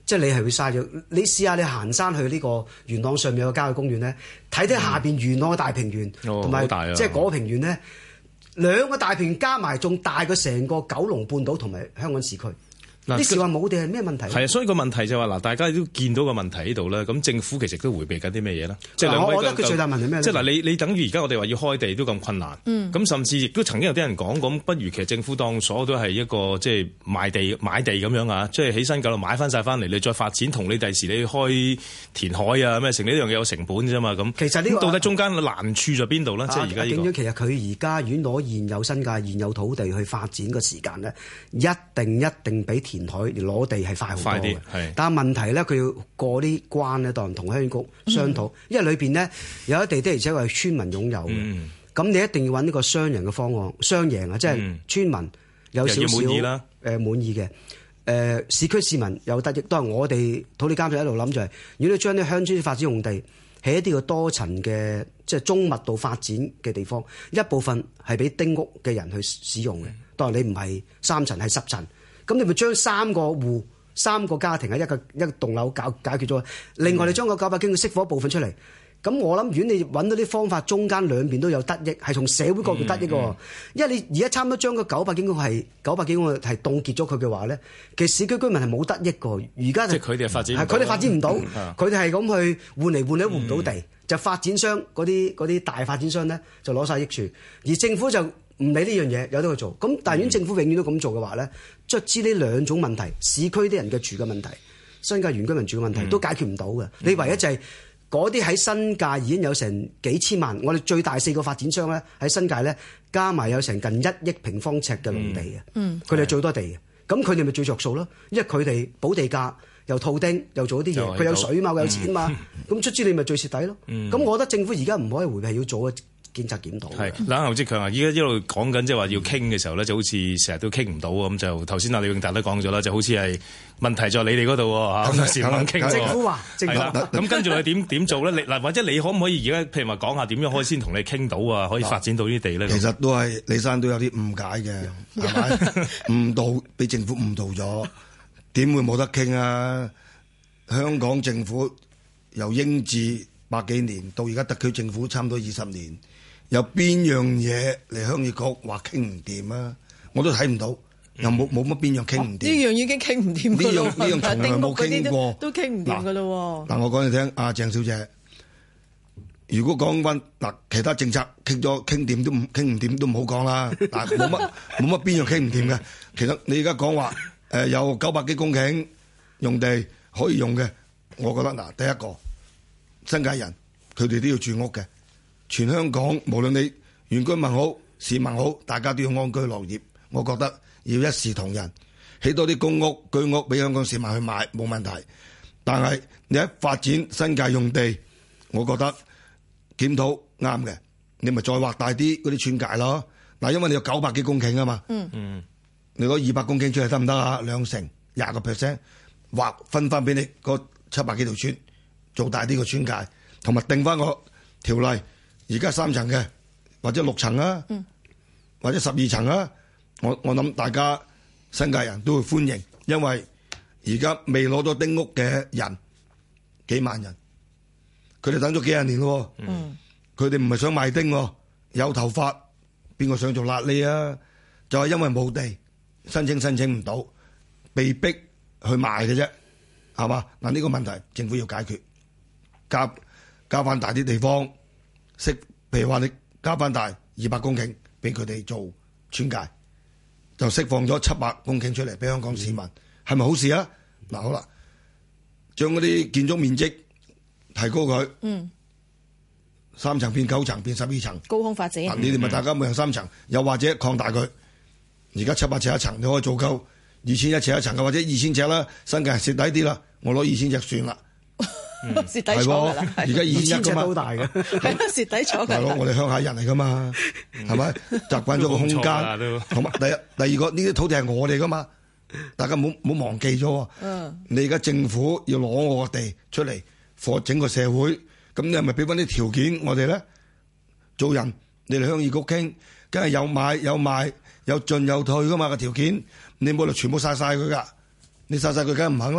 即係你係會嘥咗。你試下你行山去呢個元朗上面有個郊野公園咧，睇睇下邊元朗嘅大平原，同埋即係嗰個平原咧，兩個大平原加埋仲大過成個九龍半島同埋香港市區。啲時話冇地係咩問題？ 係啊，所以個問題就係話嗱，大家都見到個問題喺度啦。咁政府其實都迴避緊啲咩嘢啦？即係兩位， 我覺得佢最大問題咩？ 即係嗱，你你等於而家我哋話要開地都咁困難。咁、嗯、甚至亦都曾經有啲人講咁，不如其實政府當所有都係一個即係賣地買地咁樣啊，即係喺新九龍買翻晒翻嚟，你再發展，同你第時你開填海啊咩成呢樣嘢有成本啫嘛。咁其實呢、呢個到底中間難處在邊度咧？即係而家呢個。 其實佢而家如果攞現有新界現有土地去發展嘅時間咧，一定一定比填海攞地係快好多嘅，但係問題咧，佢要過啲關咧，當同鄉議局商討，嗯、因為裏邊咧有一地的而且確係村民擁有嘅，咁、嗯、你一定要揾呢個商人嘅方案，雙贏啊，即係村民有少少誒滿意嘅，誒、呃、市區市民有得益，都係我哋土地監察一路諗就係、是，如果你將啲鄉村發展用地喺一啲嘅多層嘅即係中密度發展嘅地方，一部分係俾丁屋嘅人去使用嘅，當然你唔係三層係十層。咁你咪將三個戶、三個家庭喺一個一個棟樓搞解決咗。另外你將個九百公頃釋放一部分出嚟。咁我諗，如果你揾到啲方法，中間兩邊都有得益，係從社會角度得益嘅。嗯嗯、因為你而家差唔多將個九百公頃係九百幾公頃係凍結咗佢嘅話咧，其實市區居民係冇得益嘅。而家即係佢哋發展， 係佢哋發展唔到，佢哋係咁去換嚟換去換唔到地，嗯、就發展商嗰啲嗰啲大發展商咧就攞晒益處，而政府就唔理呢樣嘢，有得去做。咁但係如果政府永遠都咁做嘅話咧，卒之呢兩種問題，市區啲人嘅住嘅問題，新界原居民住嘅問題、嗯、都解決唔到嘅。你唯一就係嗰啲喺新界已經有成幾千萬，我哋最大四個發展商咧喺新界咧加埋有成近一億平方尺嘅農地嘅，嗯，佢哋係最多地嘅。咁佢哋咪最着數咯，因為佢哋補地價又套丁又做啲嘢，佢有水嘛，佢有錢嘛，咁卒之你咪最蝕底咯。咁、嗯、我覺得政府而家唔可以迴避，係要做嘅。檢測檢討係嗱，侯志強啊！依家一路講緊即係話要傾嘅時候咧，就好似成日都傾唔到咁。就頭先阿李永達都講咗啦，就好似係問題在你哋嗰度嚇，有時唔肯傾。 政府話係啦，咁跟住你點點做咧？你嗱，或者你可唔可以而家譬如話講下點樣可以先同你傾到啊？可以發展到呢啲地咧？ 其實都係李生都有啲誤解嘅，係咪誤導俾政府誤導咗？點會冇得傾啊？香港政府由英治百幾年到而家特區政府差唔多二十年。有邊樣嘢嚟鄉議局話傾唔掂啊？我都睇唔到，又冇冇乜邊樣傾唔掂。 呢樣已經傾唔掂。 呢樣呢樣從來冇傾過， 都傾唔掂噶咯。 嗱，我講你聽，阿鄭小姐，如果講翻嗱其他政策傾咗傾掂都唔傾唔掂都唔好講啦。嗱，冇乜冇乜邊樣傾唔掂嘅。其實你而家講話誒有九百幾公頃用地可以用嘅，我覺得嗱，第一個新界人佢哋都要住屋嘅。全香港無論你原居民好市民好，大家都要安居樂業。我覺得要一視同仁，起多啲公屋居屋俾香港市民去買冇問題。但係你一發展新界用地，我覺得檢討啱嘅，你咪再劃大啲嗰啲村界咯。嗱，因為你有九百幾公頃啊嘛，嗯嗯，你攞二百公頃出嚟得唔得啊？兩成廿個 percent 劃分翻俾你嗰七百幾條村，做大啲個村界，同埋定翻個條例。而家三層嘅，或者六層啊，嗯、或者十二層啊，我我諗大家新界人都會歡迎，因為而家未攞到丁屋嘅人幾萬人，佢哋等咗幾廿年咯，佢哋唔係想賣丁，有頭髮邊個想做癩痢啊？就係、是、因為冇地申請申請唔到，被逼去賣嘅啫，係嘛？嗱，呢個問題政府要解決，加加翻大啲地方。釋，譬如話你加翻大二百公頃俾佢哋做村界，就釋放咗七百公頃出嚟俾香港市民，係咪、嗯、好事啊？嗱、嗯，好啦，將嗰啲建築面積提高佢，嗯，三層變九層變十二層， 高空發展。 你哋咪大家每人三層，嗯、又或者擴大佢。而家七百尺一層，你可以做夠二千一尺一層嘅，或者二千尺啦，新界蝕底啲啦，我攞二千尺算啦。 蝕底咗㗎啦， 而家二千尺都大嘅， 係咯，蝕底咗。 大佬，我哋鄉下人嚟噶嘛，係咪習慣咗個空間？同埋第一、第二個呢啲土地係我哋噶嘛，大家唔好唔好忘記咗。嗯，你而家政府要攞我個地出嚟，貨整個社會，咁你係咪俾翻啲條件我哋咧？做人，你哋鄉議局傾，梗係有買有賣有進有退噶嘛個條件，你冇理由全部晒晒佢噶，你晒晒佢梗係唔肯啦。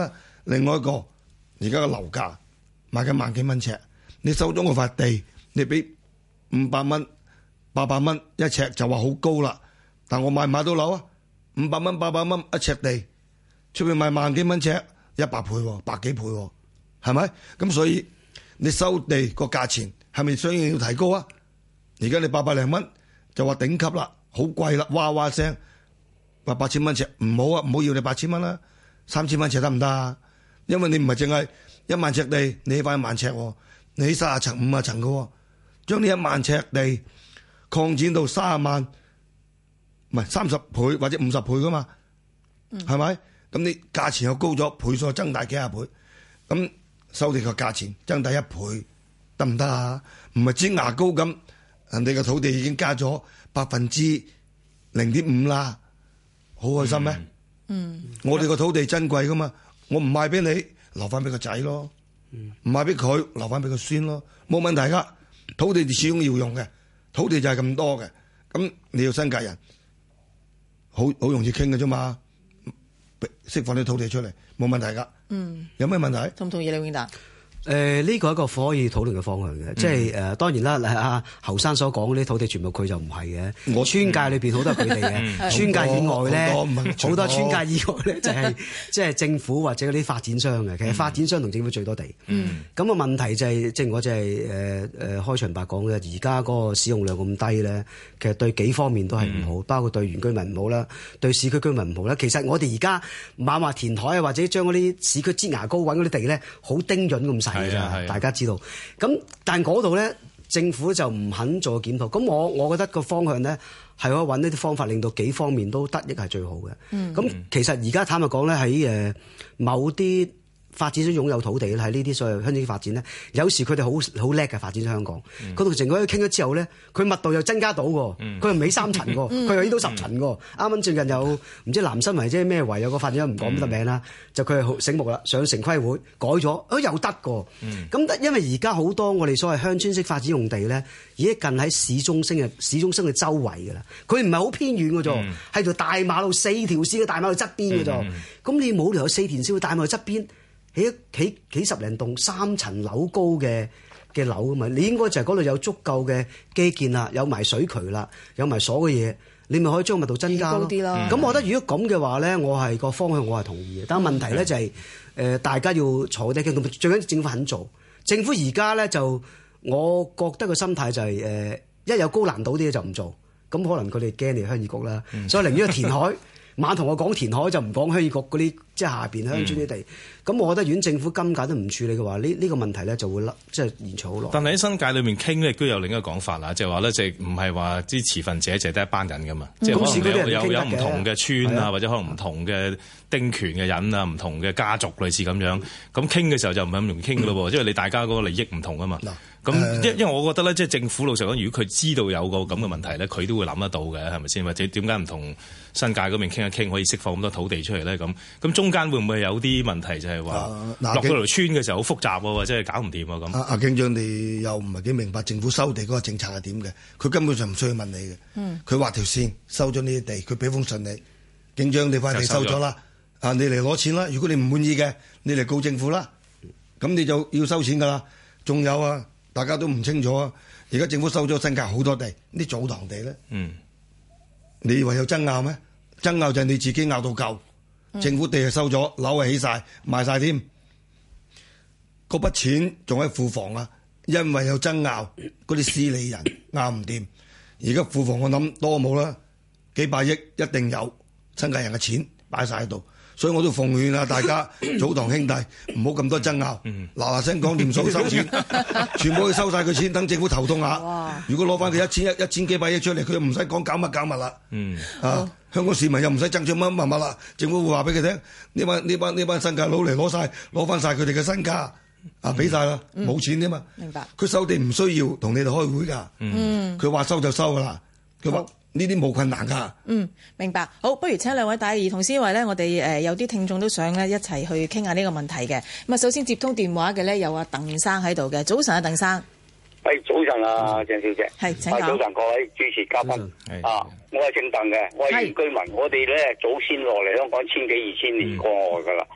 另外一個而家嘅樓價賣緊萬幾蚊尺，你收咗我塊地，你俾五百蚊、八百蚊一尺就話好高啦。但我買唔買到樓啊？五百蚊、八百蚊一尺地，出面賣萬幾蚊尺，一百倍喎，百幾倍喎，係咪？咁所以你收地個價錢係咪相應要提高啊？而家你八百零蚊就話頂級啦，好貴啦，哇哇聲，話八千蚊尺唔好啊，唔好要你八千蚊啦，三千蚊尺得唔得啊？因為你唔係淨係一萬尺地，你起翻一萬尺，你起三十層、五十層嘅，將呢一萬尺地擴展到三十萬，唔係三十倍或者五十倍噶嘛，係咪、嗯？咁你價錢又高咗，倍數增大幾廿倍，咁收地個價錢增大一倍得唔得啊？唔係支牙膏咁，人哋嘅土地已經加咗百分之零點五啦，好開心咩？嗯，我哋個土地珍貴噶嘛，我唔賣俾你，留翻俾個仔咯，唔賣俾佢，留翻俾個孫咯，冇問題噶。土地始終要用嘅，土地就係咁多嘅，咁你要新界人，好好容易傾嘅啫嘛，釋放啲土地出嚟，冇問題噶。嗯，有咩問題？ 同唔同意李永達？ 誒、呃、呢、這個係一個可以討論嘅方向嘅，嗯、即係誒、呃、當然啦，阿侯生所講嗰啲土地全部佢就唔係嘅，我村界裏邊好多係佢哋嘅，村界以外咧好多村界以外咧就係即係政府或者嗰啲發展商嘅，其實發展商同政府最多地。嗯，咁個問題就係、是，正如我就係誒誒開場白講嘅，而家嗰個使用量咁低咧，其實對幾方面都係唔好，嗯、包括對原居民唔好啦，對市區居民唔好啦。其實我哋而家猛話填海啊，或者將嗰啲市區擠牙膏揾嗰啲地咧，好精準咁細。係啊，大家知道。咁但嗰度咧，政府就唔肯做檢討。咁我我覺得個方向咧，係可以揾一啲方法，令到幾方面都得益係最好嘅。咁、嗯、其實而家坦白講咧，喺誒某啲發展商擁有土地咧，喺呢啲所謂鄉郊發展咧，有時佢哋好好叻嘅發展香港。佢同政府傾咗之後咧，佢密度又增加到喎，佢又唔起三層喎，佢又起到十層喎。啱啱最近有唔知南新圍即係咩圍有個發展商唔講得名啦，嗯、就佢係好醒目啦，上城規會改咗，啊又得㗎。咁、嗯、因為而家好多我哋所謂鄉村式發展用地咧，已經近喺市中心嘅市中心嘅周圍㗎啦，佢唔係好偏遠㗎啫，係條、嗯、大馬路四條線嘅大馬路側邊㗎啫。咁、嗯、你冇理由有四條線嘅大馬路側邊。起起幾十零棟三層樓高嘅嘅樓啊嘛，你應該就係嗰度有足夠嘅基建啦，有埋水渠啦，有埋所有嘅嘢，你咪可以將密度增加咯。咁、嗯、我覺得如果咁嘅話咧，我係個方向我係同意嘅。但係問題咧就係、是、誒、呃、大家要坐低傾，最緊要政府肯做。政府而家咧就我覺得個心態就係、是、誒、呃、一有高難度啲嘢就唔做，咁可能佢哋驚你鄉議局啦，嗯、所以寧願填海。晚同我講填海就唔講鄉議局嗰啲即係下邊鄉村啲地，咁、嗯、我覺得如果政府今屆都唔處理嘅話，呢、這、呢個問題咧就會即係延長好耐。但係喺新界裏面傾咧，亦都有另一個講法啦，就係話咧，即係唔係話啲持份者就係得一班人噶嘛，即係、嗯、可能有有有唔同嘅村啊，或者可能唔同嘅丁權嘅人啊，唔同嘅家族類似咁樣，咁傾嘅時候就唔係咁容易傾噶咯喎，因為你大家嗰個利益唔同啊嘛。咁因因為我覺得咧，即係政府老實講，如果佢知道有個咁嘅問題咧，佢都會諗得到嘅，係咪先？或者點解唔同新界嗰邊傾一傾，可以釋放咁多土地出嚟咧？咁咁中間會唔會有啲問題，就係話落到條村嘅時候好複雜喎，或者係搞唔掂啊咁？阿阿警長，你又唔係幾明白政府收地嗰個政策係點嘅？佢根本上唔需要問你嘅。嗯，佢畫條線收咗呢啲地，佢俾封信你，警長你塊地收咗啦，啊你嚟攞錢啦。如果你唔滿意嘅，你嚟告政府啦。咁你就要收錢噶啦。仲有啊。大家都唔清楚啊！而家政府收咗新界好多地，啲祖堂地咧，嗯、你以為有爭拗咩？爭拗就係你自己拗到夠，嗯、政府地係收咗，樓係起晒，賣晒添，嗰筆錢仲喺庫房啊！因為有爭拗，嗰啲司理人拗唔掂，而家庫房我諗多冇啦，幾百億一定有新界人嘅錢擺晒喺度。所以我都奉勸啊，大家祖堂兄弟唔好咁多爭拗，嗱嗱聲講掂數收錢，全部去收晒佢錢，等政府頭痛下。哇如果攞翻佢一千一一千幾百億出嚟，佢又唔使講搞乜搞乜啦。嗯、啊，香港市民又唔使爭取乜乜乜啦，政府會話俾佢聽，呢班呢班呢班新界佬嚟攞晒攞翻晒佢哋嘅身家，啊俾晒啦，冇、嗯、錢啫嘛。明白。佢收地唔需要同你哋開會㗎，佢話、嗯、收就收㗎啦，佢話。呢啲冇困難㗎。 嗯，明白。好，不如請兩位大兒童思維咧，我哋誒有啲聽眾都想咧一齊去傾下呢個問題嘅。咁啊，首先接通電話嘅咧有阿鄧生喺度嘅。早晨啊，鄧生。 係早晨啊，鄭小姐。 係，請講。 早晨各位主持嘉賓。啊，我係姓鄧嘅，我係原居民。我哋咧祖先落嚟香港千幾二千年過外㗎啦。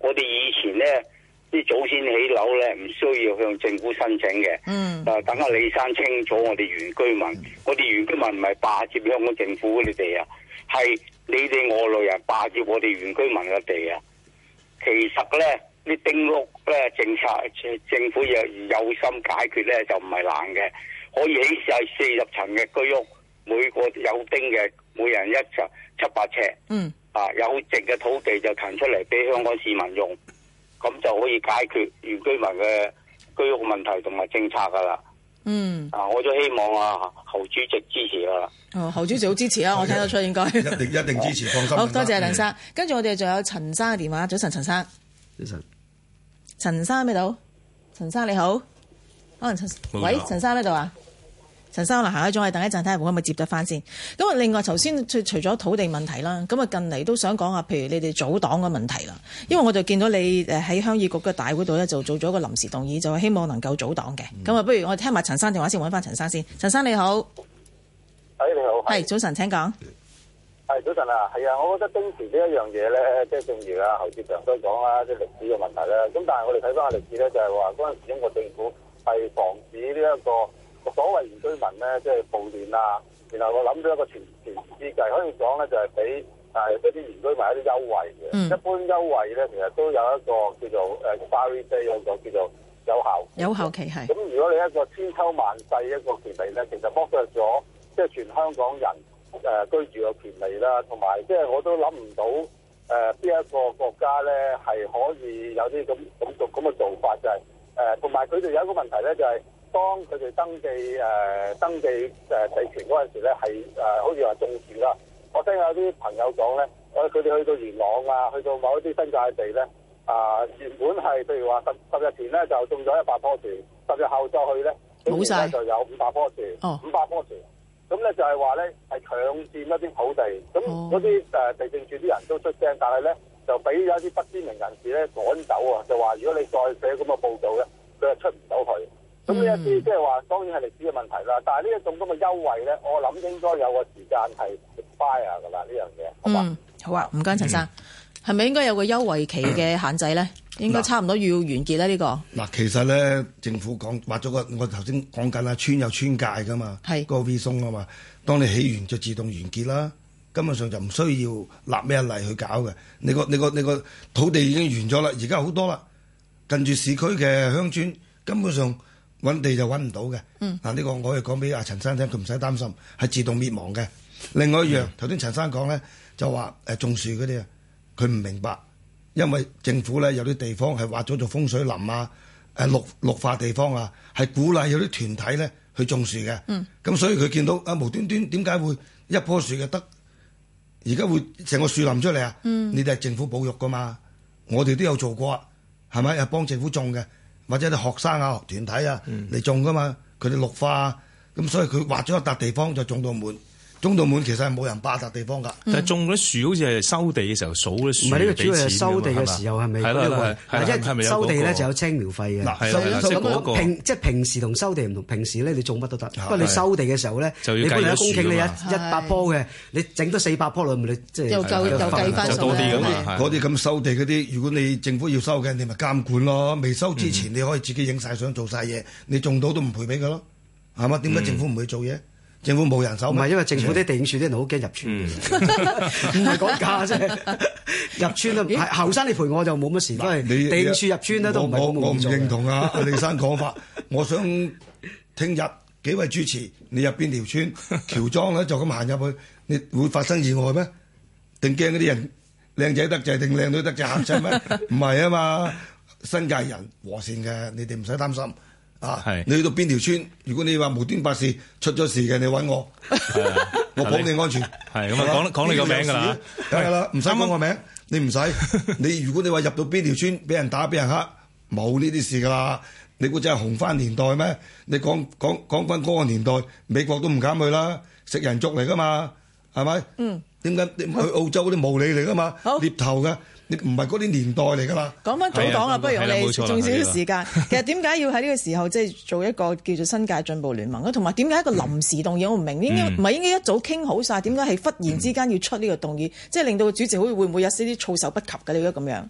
我哋以前咧啲祖先起樓咧唔需要向政府申請嘅。嗯。啊，等阿李生清楚我哋原居民，嗯、我哋原居民唔係霸佔香港政府嗰啲地啊，係你哋外來人霸佔我哋原居民嘅地啊。其實咧，啲丁屋咧政策，政府有有心解決咧就唔係難嘅，可以起晒四十層嘅居屋，每個有丁嘅，每人一層七八尺。嗯。啊，有剩嘅土地就騰出嚟俾香港市民用，咁就可以解決原居民嘅居屋問題同埋政策噶啦。嗯。啊，我都希望啊侯主席支持啊。 哦，侯主席好支持啊，我聽得出應該。 一定一定支持，放心。 好多謝梁生，跟住我哋仲有陳生嘅電話。早晨，陳生。 早晨。 陳生喺邊度？陳生你好。可能陳，喂，陳生喺度啊？陳生可能行開咗，我哋等一陣睇下可唔可以接得翻先。咁啊，另外頭先除除咗土地問題啦，咁啊近嚟都想講下，譬如你哋組黨嘅問題啦。因為我就見到你誒喺鄉議局嘅大會度咧，就做咗個臨時動議，就係希望能夠組黨嘅。咁啊、嗯，不如我哋聽埋陳生電話先，揾翻陳生先。陳生你好， 誒你好， 係早晨，請講。 係早晨啊，係啊，我覺得丁權呢一樣嘢咧，即係正如啊侯志強都講啦，即係歷史嘅問題啦。咁但係我哋睇翻個歷史咧，就係話嗰陣時英國政府係防止呢一個所謂原居民咧，即係暴亂啊。然後我諗到一個傳傳之計，可以講咧就係俾誒一啲原居民一啲優惠嘅。嗯、一般優惠咧，其實都有一個叫做誒 expiry date 嗰個叫做有效有效期係。咁如果你一個千秋萬世一個權利咧，其實剝削咗即係全香港人誒、呃、居住嘅權利啦，同埋即係我都諗唔到誒邊、呃、一個國家咧係可以有啲咁咁做咁嘅做法，就係誒同埋佢哋有一個問題咧，就係、是、當佢哋登記誒、呃、登記誒地權嗰陣時咧，係誒、呃、好似話種樹啦。我聽有啲朋友講咧，誒佢哋去到元朗啊，去到某一啲新界地咧，啊、呃、原本係譬如話十十日前咧就種咗一百棵樹，十日後再去咧，冇晒就有五百棵樹，五百棵樹。咁咧就係話咧係強佔一啲土地，咁嗰啲誒地政處啲人都出聲，但係咧就俾有一啲不知名人士咧趕走啊，就話如果你再寫咁嘅報道咧，佢就出唔到去。咁呢一啲即係話當然係歷史嘅問題啦，但係呢一種咁嘅優惠咧，我諗應該有個時間係 expire 噶啦呢樣嘢。好嗯，好啊，唔該陳生，係咪、嗯、應該有個優惠期嘅限制咧？應該差唔多要完結咧呢個。 嗱，其實咧政府講畫咗個，我頭先講緊啦，村有村界噶嘛，係個 V 松啊嘛。當你起完就自動完結啦，根本上就唔需要立咩例去搞嘅。你個你個你個土地已經完咗啦，而家好多啦，近住市區嘅鄉村根本上揾地就揾唔到嘅。嗯，嗱呢個我哋講俾阿陳生聽，佢唔使擔心，係自動滅亡嘅。另外一樣，頭先陳生講咧就話誒種樹嗰啲啊，佢唔明白。因為政府咧有啲地方係劃咗做風水林啊，誒綠綠化地方啊，係鼓勵有啲團體咧去種樹嘅。嗯，咁所以佢見到啊無端端點解會一棵樹嘅得，而家會成個樹林出嚟啊？嗯，你哋係政府保育噶嘛，我哋都有做過啊，係咪？係幫政府種嘅，或者啲學生啊團體啊嚟種噶嘛，佢哋綠化啊，咁所以佢劃咗一笪地方就種到滿。種到滿其實係冇人霸笪地方㗎， 但係種嗰啲樹好似係收地嘅時候數啲樹， 唔係呢個主要係收地嘅時候係咪？係啦係啦，一收地咧就有青苗費嘅。 嗱，收收嗰個平即係平時同收地唔同，平時咧你種乜都得，不過你收地嘅時候咧，你本來一公頃你一一百棵嘅，你整多四百棵落，你即係又夠又計翻數多啲㗎嘛。 嗰啲咁收地嗰啲，如果你政府要收嘅，你咪監管咯。未收之前你可以自己影晒相做晒嘢，你種到都唔賠俾佢咯，係嘛？點解政府唔去做嘢？政府冇人手， 唔係因為政府啲地政處啲人好驚入村，唔係講價啫。入村啊，係後生你陪我就冇乜事，因為地政處入村咧都唔係我我唔認同啊李生講法。我想聽日幾位主持，你入邊條村喬莊咧就咁行入去，你會發生意外咩？定驚嗰啲人靚仔得滯定靚女得滯嚇親咩？唔係啊嘛，新界人和善嘅，你哋唔使擔心。啊！你去到邊條村？如果你話無端白事出咗事嘅，你揾我，我保你安全。 係咁啊，講講你個名㗎啦， 梗係啦，唔使講個名，你唔使。你如果你話入到邊條村，俾人打俾人黑，冇呢啲事㗎啦。你估真係紅番年代咩？你講講講翻嗰個年代，美國都唔敢去啦，食人族嚟㗎嘛，係咪？嗯。點解你去澳洲嗰啲無理嚟㗎嘛？獵頭㗎。你唔係嗰啲年代嚟㗎啦。 講翻組黨啦，不如我哋仲少少時間。其實點解要喺呢個時候即係做一個叫做新界進步聯盟咧？同埋點解一個臨時動議？我唔明，應該唔係應該一早傾好晒？點解係忽然之間要出呢個動議？即係令到個主席好似會唔會有啲措手不及嘅？你覺得咁樣？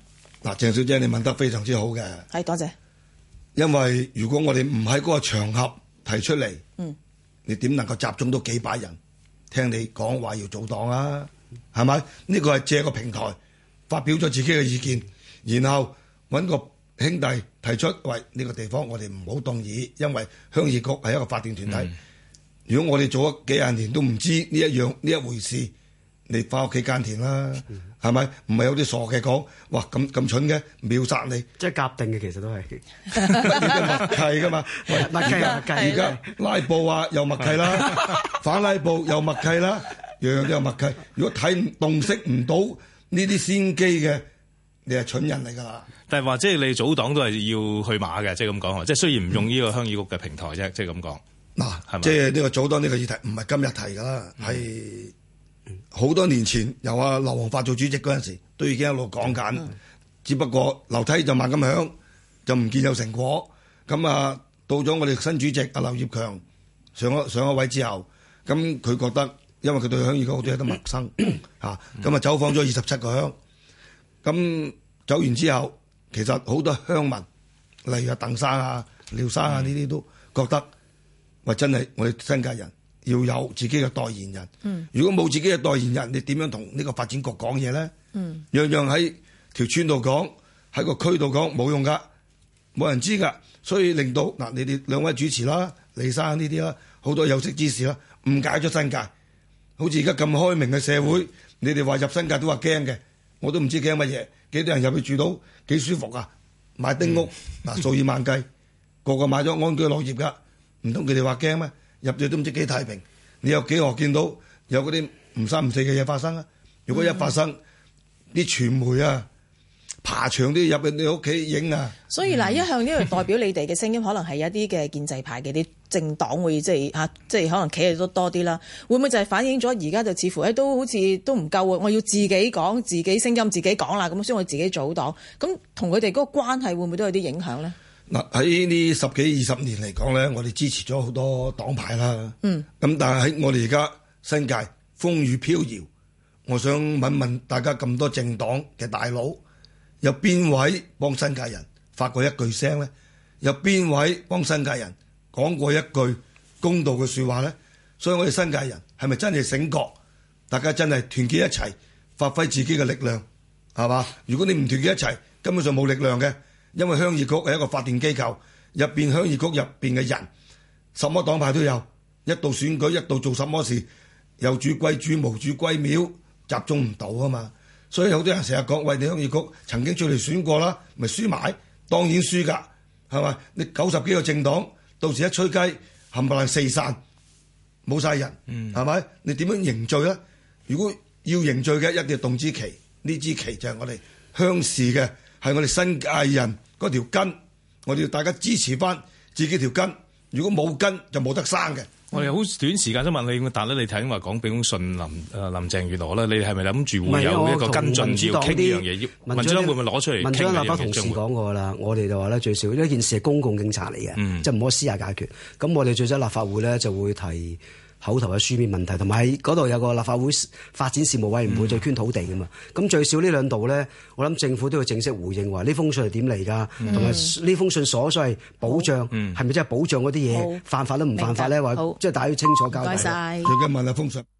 嗱，鄭小姐你問得非常之好嘅， 係多謝。 因為如果我哋唔喺嗰個場合提出嚟，嗯，你點能夠集中到幾百人聽你講話要組黨啊？係咪？呢個係借個平台發表咗自己嘅意見，然後揾個兄弟提出，喂，呢個地方我哋唔好動議，因為鄉議局係一個法定團體。嗯、如果我哋做咗幾廿年都唔知呢一樣呢一回事，你翻屋企耕田啦，係咪？唔係有啲傻嘅講，哇咁咁蠢嘅秒殺你， 即係夾定嘅，其實都係默契噶嘛， 默契啊！ 而家拉布啊又默契啦，反拉布又默契啦，樣樣都有默契。如果睇唔洞悉唔到呢啲先機嘅，你係蠢人嚟㗎啦。 但係話即係你組黨都係要去馬嘅，即係咁講，即係雖然唔用呢個鄉議局嘅平台啫，即係咁講。嗱，係咪？即係呢個組黨呢個議題唔係今日提㗎啦，係、嗯、好多年前由阿劉皇發做主席嗰陣時，都已經一路講緊。嗯、只不過樓梯就慢咁響，就唔見有成果。咁啊，到咗我哋新主席阿劉業強上咗上咗位之後，咁佢覺得因為佢對鄉議局好多嘢都陌生嚇，咁、嗯、啊、嗯、走訪咗二十七個鄉。咁走完之後，其實好多鄉民，例如阿鄧生啊、廖生啊呢啲、嗯、都覺得，喂，真係我哋新界人要有自己嘅代言人。嗯、如果冇自己嘅代言人，你點樣同呢個發展局講嘢咧？嗯、樣樣喺條村度講，喺個區度講冇用噶，冇人知噶。所以令到嗱，你哋兩位主持啦、李生呢啲啦，好多有識之士啦，誤解咗新界。好似而家咁開明嘅社會，嗯、你哋話入新界都話驚嘅。我都唔知驚乜嘢，幾多人入去住到幾舒服啊？買丁屋嗱、嗯、數以萬計，個個買咗安居樂業噶，唔通佢哋話驚咩？入咗都唔知幾太平，你有幾何見到有嗰啲唔三唔四嘅嘢發生啊？如果一發生，啲、嗯、傳媒啊爬牆都要入去你屋企影啊！ 所以嗱，一向呢個代表你哋嘅聲音，可能係一啲嘅建制派嘅啲政黨會即係嚇，即係可能企喺度多啲啦。會唔會就係反映咗而家就似乎誒都好似都唔夠喎？我要自己講自己聲音，自己講啦，咁所以我自己組黨。咁同佢哋嗰個關係會唔會都有啲影響咧？ 嗱，喺呢十幾二十年嚟講咧，我哋支持咗好多黨派啦。嗯。咁但係喺我哋而家新界風雨飄搖，我想問問大家咁多政黨嘅大佬，有邊位幫新界人發過一句聲咧？有邊位幫新界人講過一句公道嘅説話咧？所以我哋新界人係咪真係醒覺？大家真係團結一齊，發揮自己嘅力量，係嘛？如果你唔團結一齊，根本上冇力量嘅。因為鄉議局係一個法定機構，入邊鄉議局入邊嘅人，什麼黨派都有。一到選舉，一到做什麼事，有主歸主，無主歸廟，集中唔到啊嘛。所以好多人成日講，喂，你鄉議局曾經出嚟選過啦，咪輸埋，當然輸㗎，係咪？你九十幾個政黨，到時一吹雞，冚唪唥四散，冇晒人，係咪、嗯？你點樣凝聚咧？如果要凝聚嘅，一定要動支旗，呢支旗就係我哋鄉事嘅，係我哋新界人嗰條根，我哋要大家支持翻自己條根。如果冇根，就冇得生嘅。 我哋好短時間都問你，但係咧，你睇話講俾封信林誒林鄭月娥咧，你係咪諗住會有一個跟進要傾呢樣嘢？民主黨會唔會攞出嚟？ 民主黨立法同事講過啦，我哋就話咧最少呢件事係公共警察嚟嘅，嗯、即係唔可以私下解決。咁我哋最少立法會咧就會提口頭嘅書面問題，同埋喺嗰度有個立法會發展事務委員會再捐土地噶嘛。咁、嗯、最少呢兩度咧，我諗政府都要正式回應話呢封信係點嚟㗎，同埋呢封信所所謂保障係咪真係保障嗰啲嘢犯法都唔犯法咧？話即係大家要清楚交代。 唔該晒。 最緊問下封信。